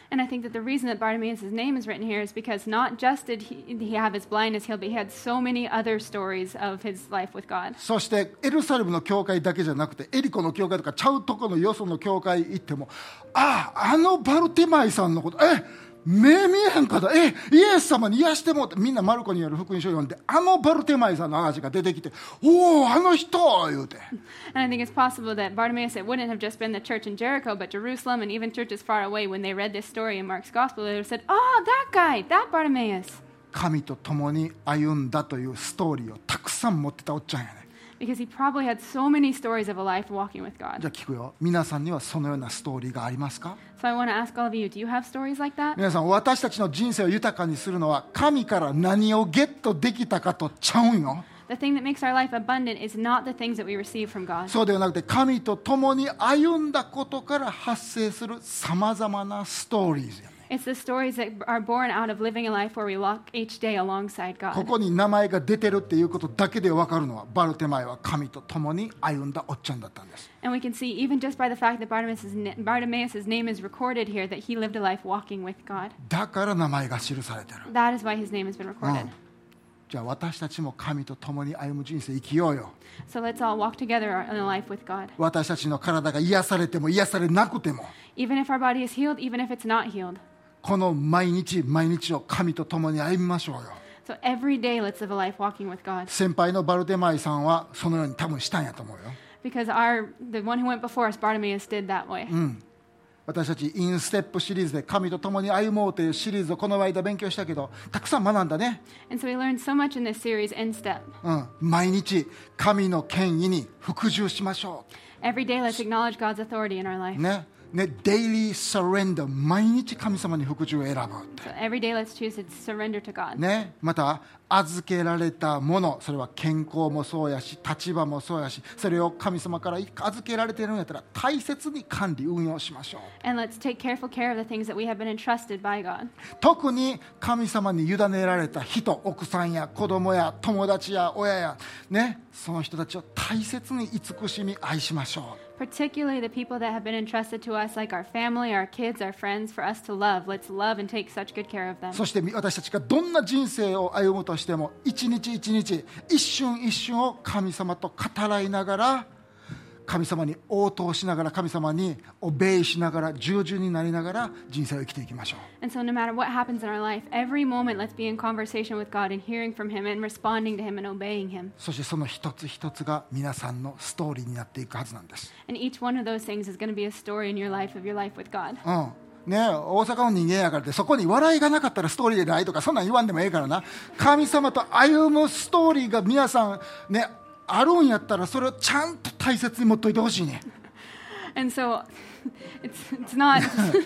And I think that the reason that Bartimaeus' name is written here is because not just did he, he have his blindness healed, but he had so many other stories of his life with God. そしてエルサレムの教会だけじゃなくてエリコの教会とかちゃうとこのよその教会行っても、ああ、あのバルテマイさんのこと、え目見えへんかった、えイエス様に癒してもって、みんなマルコによる福音書を読んで、あのバルテマイさんの話が出てきて、おおあの人言うて。 And I think it's possible that Bartimaeus, it wouldn't have just been the church in Jericho, but Jerusalem and even churches far away, when they read this story in Mark's gospel, they would have said, oh, that guy, that Bartimaeus. 神と共に歩んだというストーリーをたくさん持ってたおっちゃんやね。 Because he probably had so many stories of a life walking with じゃ God. あ聞くよ、皆さんにはそのようなストーリーがありますか？ So I want to ask all of you, do you have stories like that? 皆さん、私たちの人生を豊かにするのは神から何をゲットできたかとちゃうんよ。 The thing that makes our life abundant is not the things that we receive from God. そうではなくて、神と共に歩んだことから発生するさまざまなストーリーズやね。 It's the stories that are born out of living a life where we walk each day alongside こ God. こに名前が出てるっていうことだけで分かるのは、バルテマイは神と共に歩んだおっちゃんだったんです。 And we can see, even just by the fact that Bartimaeus' na- Bartimaeus' name is recorded here, that he lived a life walking with God. だから名前が記されてる。 That is why his name has been recorded. うんじゃあ私たちも神と共に歩む人生生きようよ。 So let's all walk together in a life with God. 私たちの体が癒されても癒されなくても、 Even if our body is healed, even if it's not healed. この毎日毎日を神と共に歩みましょうよ。 So every day, let's live a life walking with God. 先輩のバルテマイさんはそのように多分したんやと思うよ。 Because our the one who went before us, Bartimaeus, did that way. 私たちインステップシリーズで神と共に歩もうというシリーズをこの間勉強したけど、たくさん学んだね。 And so we learned so much in this series, In Step. うん、毎日神の権威に服従しましょ Every day, let's acknowledge God's authority in our う。 life. ね。ね、デイリーサレンダー、毎日神様に服従を選ぶって。 So every day, let's choose to surrender to God. ね、また預けられたもの、それは健康もそうやし立場もそうやし、それを神様から預けられているんやったら大切に管理運用しましょう。 And let's take careful care of the things that we have been entrusted by God. 特に神様に委ねられた人、奥さんや子供や友達や親や、ね、その人たちを大切に慈しみ愛しましょう。 Particularly the people that have been entrusted to us, like our family, our kids, our friends, for us to love. Let's love and take such good care of them. そして私たちがどんな人生を歩むとしても、一日一日一瞬一瞬を神様と語らいながら、神様に応答しながら、神様にオベイしながら、従順になりながら人生を生きていきましょう。 And so no matter what happens in our life, every moment let's be in conversation with God and hearing from Him and responding to Him and obeying Him. そしてその一つ一つが皆さんのストーリーになっていくはずなんです。 And each one of those things is going to be a story in your life of your life with God. うんね、大阪の人間やからってそこに笑いがなかったらストーリーでないとかそんなん言わんでもええからな。神様と歩むストーリーが皆さんねあるんやったらそれをちゃんと大切に持っといてほしいね。 And so it's it's not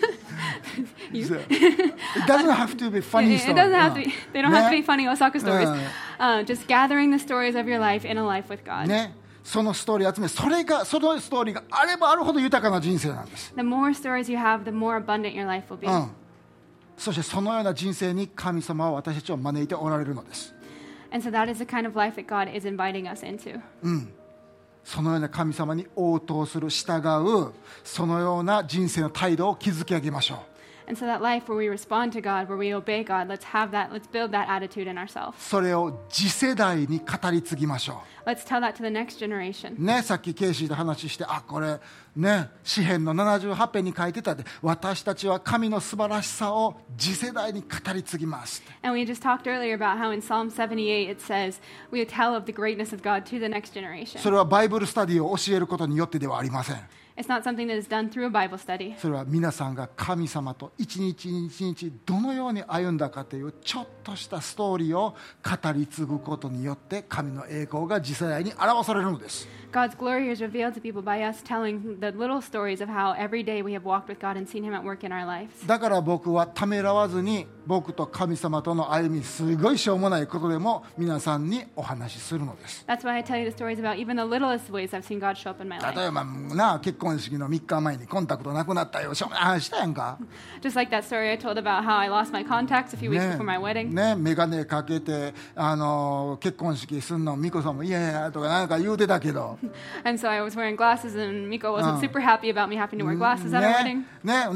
you, It doesn't have to be funny it, story. it doesn't have to be, they don't have to be ね funny Osaka stories. Uh. Uh, just gathering the stories of your life in a life with God. ね、そのストーリー集め、それがそのストーリーがあればあるほど豊かな人生なんです。 The more stories you have, the more abundant your life will be. うん。そしてそのような人生に神様は私たちを招いておられるのです。 And so that is the kind of life that God is inviting us into. そのような神様に応答する、従う、そのような人生の態度を築き上げましょう。 And so that life where we respond to God, where we obey God, let's have that, let's build that attitude in ourselves. それを次世代に語り継ぎましょ Let's tell that to the next generation. う。ね、さっきケイシーと話して、あ、これ、ね、詩編のななじゅうはち編に書いてたで、私たちは神の素晴らしさを次世代に語り継ぎます。 And we just talked earlier about how in Psalm seventy-eight it says, we tell of the greatness of God to the next generation. それはバイブルスタディを教えることによってではありません。 It's not something that is done through a Bible study. それは皆さんが神様と一日一日どのように歩んだかというちょっとしたストーリーを語り継ぐことによって神の栄光が次世代に表されるのです。 God's glory is revealed to people by us telling the little stories of how every day we have walked with God and seen Him at work in our lives. だから僕はためらわずに僕と神様との歩み、すごいしょうもないことでも皆さんにお話しするのです。 That's why I tell you the stories about even the littlest ways I've seen God show up in my 例 life. えばな、結婚式のみっかまえにコンタクトなくなったよ、しょうもない話したやんか。 Just like that story I told about how I lost my contacts a few weeks ね before my wedding. ね、眼鏡かけてあの結婚式すんの美子さんもいやいやとかなんか言うてたけど And so I was wearing glasses and Miko wasn't super happy about me having to wear glasses at our ね wedding. ね、で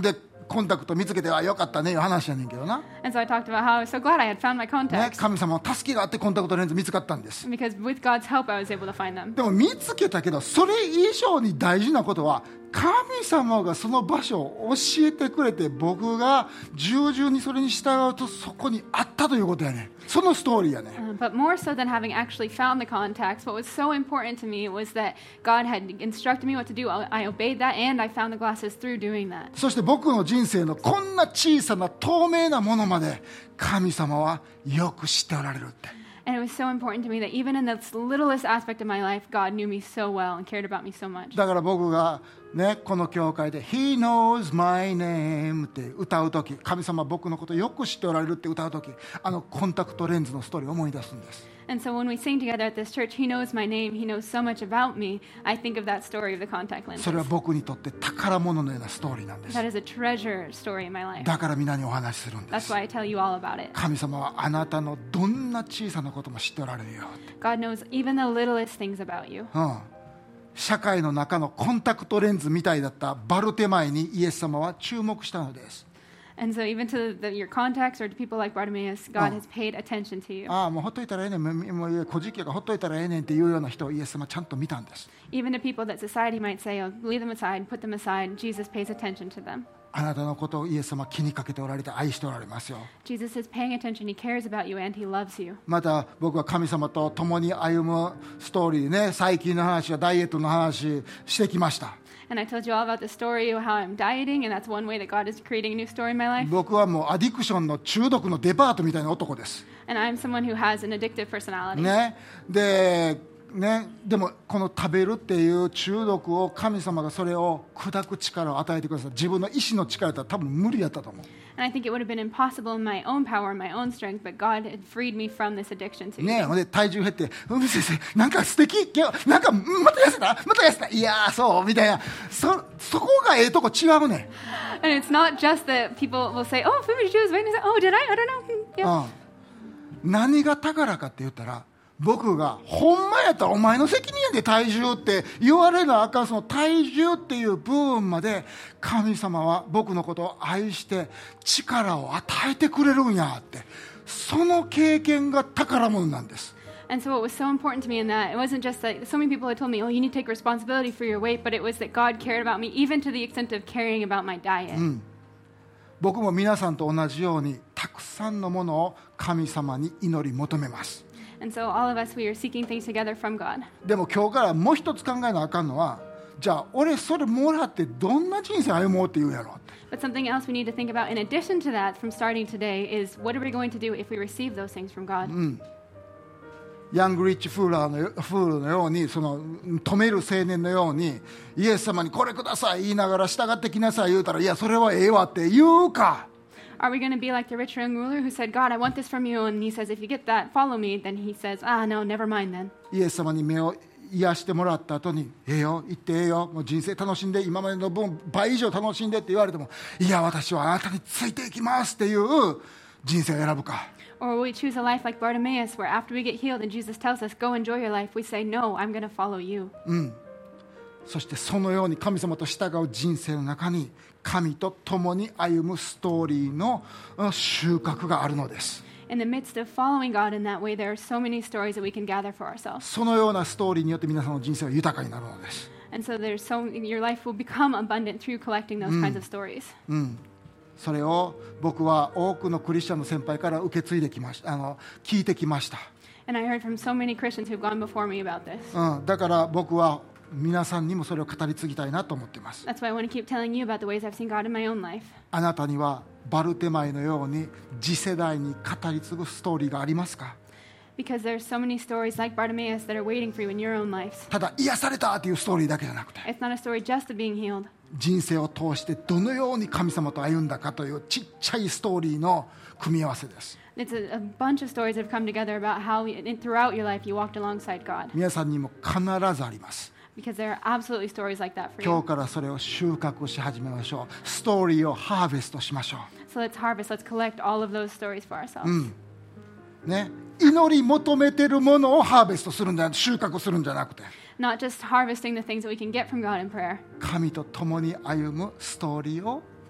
コンタクト見つけてはよかったねいう話やねんけどな、 And so I talked about how I was so glad I had found my ね、 contacts. 神様の助けがあってコンタクトレンズ見つかったんです。 Because with God's help, I was able to find them. でも見つけたけど、それ以上に大事なことは神様がその場所を教えてくれて、僕が従順にそれに従うとそこにあったということやね。そのストーリーやね。 Uh, but more so than having actually found the contacts, what was so important to me was that God had instructed me what to do. I I obeyed that, and I found the glasses through doing that. そして僕の人生のこんな小さな透明なものまで神様はよく知っておられるって。 And it was so important to me that even in the littlest aspect of my life, God knew me so well and cared about me so much. だから僕がね、この教会で He knows my name って歌うとき、神様は僕のことをよく知っておられるって歌うとき、あのコンタクトレンズのストーリーを思い出すんです。 And so when we sing together at this church, He knows my name, He knows so much about me, I think of that story of the contact lenses. それは僕にとって宝物のようなストーリーなんです。 That is a treasure story in my life. だから皆にお話しするんで That's す。 why I tell you all about it. 神様はあなたのどんな小さなことも知っておられるよって。 God knows even the littlest things about you. うん、社会の中のコンタクトレンズみたいだったバルテマイにイエス様は注目したのです。 And so even to the, your contacts or to people like Bartimaeus, God Oh. has paid attention to you. ああもうほっといたらええねん、もうもう小じきやからほっといたらええねんっていうような人をイエス様はちゃんと見たんです。 Even to people that society might say, oh, leave them aside, put them aside, Jesus pays attention to them. あなたのことをイエス様は気にかけておられて愛しておられますよ。 Jesus is paying attention, He cares about you, and He loves you. また僕は神様と共に歩むストーリーでね、最近の話やダイエットの話してきました。 And I told you all about the story of how I'm dieting, and that's one way that God is creating a new story in my life. 僕はもうアディクションの中毒のデパートみたいな男です。 And I'm someone who has an addictive personality. ね、でね、でもこの食べるっていう中毒を神様がそれを砕く力を与えてください。自分の意志の力だったら多分無理やったと思う。 And I think it would have been impossible in my own power, in my own strength, but God had freed me from this addiction to ね、 eating. ほんで体重減って「うん先生なんか素敵今日なんかうんまた痩せたまた痩せたいやーそう」みたいな、そそこがええとこ違うね。 And it's not just that people will say, oh, food is weight. Oh, did I? I don't know. Yeah. うん、何が宝かって言ったら、僕がほんまやったらお前の責任やで体重って言われなあかん、その体重っていう部分まで神様は僕のことを愛して力を与えてくれるんやって、その経験が宝物なんです。 And so what was so important to me in that, it wasn't just that so many people had told me, oh, you need to take responsibility for your weight, but it was that God cared about me, even to the extent of caring about my diet. 僕も皆さんと同じようにたくさんのものを神様に祈り求めます。 And so all of us, we are seeking things together from God. でも今日からもう一つ考えなあかんのは、じゃあ俺それもらってどんな人生歩もうって言うやろって。 But something else we need to think about in addition to that from starting today is what are we going to do if we receive those things from God? ヤングリッチフーラーのよフールのように、その止める青年のようにイエス様にこれください言いながら従ってきなさい言うたら、いやそれはええわって言うか。 Are we going to be like the rich young ruler who said, God, I want this from you, and he says, if you get that, follow me. Then he says, ah, no, never mind then. イエス様に目を癒してもらった後に、ええよ行ってええよもう人生楽しんで今までの分倍以上楽しんでって言われても、いや私はあなたについていきますっていう人生を選ぶか。 Or will we choose a life like Bartimaeus, where after we get healed and Jesus tells us, go enjoy your life, we say, no, I'm going to follow you. そしてそのように神様と従う人生の中に神と共に歩むストーリーの収穫があるのです。 In the midst of following God in that way, there are so many stories that we can gather for ourselves. そのようなストーリーによって皆さんの人生は豊かになるのです。 And so there's so your life will become abundant through collecting those kinds of stories. それを僕は多くのクリスチャンの先輩から受け継いできました、あの聞いてきました。 And I heard from so many Christians who've gone before me about this. うん、だから僕は皆さんにもそれを語り継ぎたいなと思っています。 That's why I want to keep telling you about the ways I've seen God in my own life. あなたにはバルテマイのように次世代に語り継ぐストーリーがありますか？ Because there's so many stories like Bartimaeus that are waiting for you in your own lives. ただ癒されたというストーリーだけじゃなくて、 It's not a story just of being healed. 人生を通してどのように神様と歩んだかというちっちゃいストーリーの組み合わせです。 It's a, a bunch of stories that have come together about how in, throughout your life you walked alongside God. 皆さんにも必ずあります。 Because there are absolutely stories like that for 今 you. 日からそれを収穫し始めましょう。ストーリーをハーベストしましょ So let's harvest, let's collect all of those stories for ourselves. う。ね、祈り求めてるものをハーベストするんじゃ収穫するんじゃなくて、 Not just harvesting the things that we can get from God in prayer, 神と共に歩むストーリーを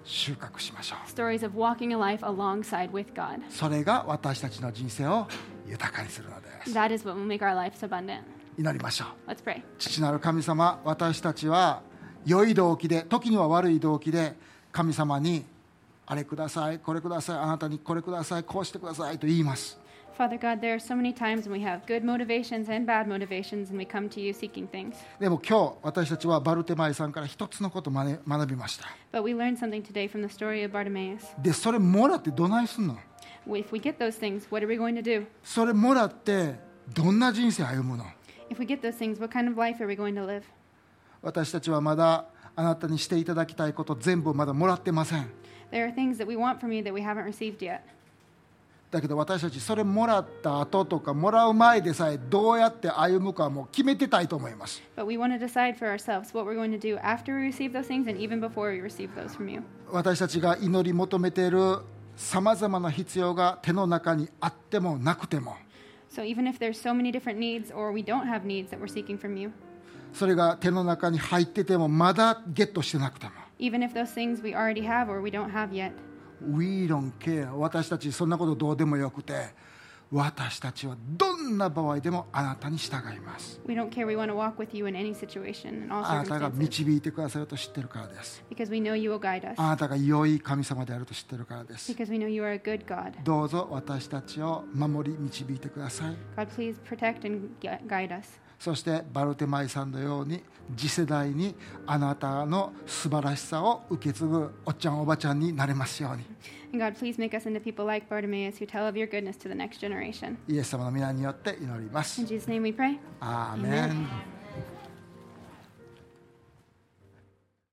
収穫しましょう。 Stories of walking a life alongside with God. それが私たちの人生を豊かにするのです。 That is what will make our lives abundant. 祈りましょう。 Let's pray. 父なる神様、私たちは良い動機で、時には悪い動機で神様にあれください、これください、あなたにこれください、こうしてくださいと言います。 Father God, there are so many times when we have good motivations and bad motivations and we come to you seeking things. でも今日私たちはバルテマイさんから一つのことを学学びました。 But we learned something today from the story of Bartimaeus. でそれもらってどないすんの？ If we get those things, what are we going to do? それもらってどんな人生歩むの？ If we get those things, what kind of life are we going to live? 私たちはまだあなたにしていただきたいこと全部まだもらってません。 There are things that we want from you that we haven't received yet. だけど私たちそれもらった後とかもらう前でさえどうやって歩むかはもう決めてたいと思います。 But we want to decide for ourselves what we're going to do after we receive those things and even before we receive those from you. 私たちが祈り求めているさまざまな必要が手の中にあってもなくても、 So even if there's so many different needs or we don't have needs that we're seeking from you, それが手の中に入っててもまだゲットしてなくても、 even if those things we already have or we don't have yet, We don't care。 私たちそんなことどうでもよくて、私たちはどんな場合でもあなたに従います。 we don't care. We want to walk with you in any situation, in all あなたが circumstances, 導いてくださると知ってるからです。 because we know you will guide us, あなたが良い神様であると知ってるからです。 because we know you are a good God. どうぞ私たちを守り導いてください。 God, please protect and gu- guide us. そしてバルテマイさんのように次世代にあなたの素晴らしさを受け継ぐおっちゃんおばちゃんになれますように。 And God, please make us into people like Bartimaeus who tell of your goodness to the next generation. イエス様の皆によって祈ります。 In Jesus' name we pray. アーメン。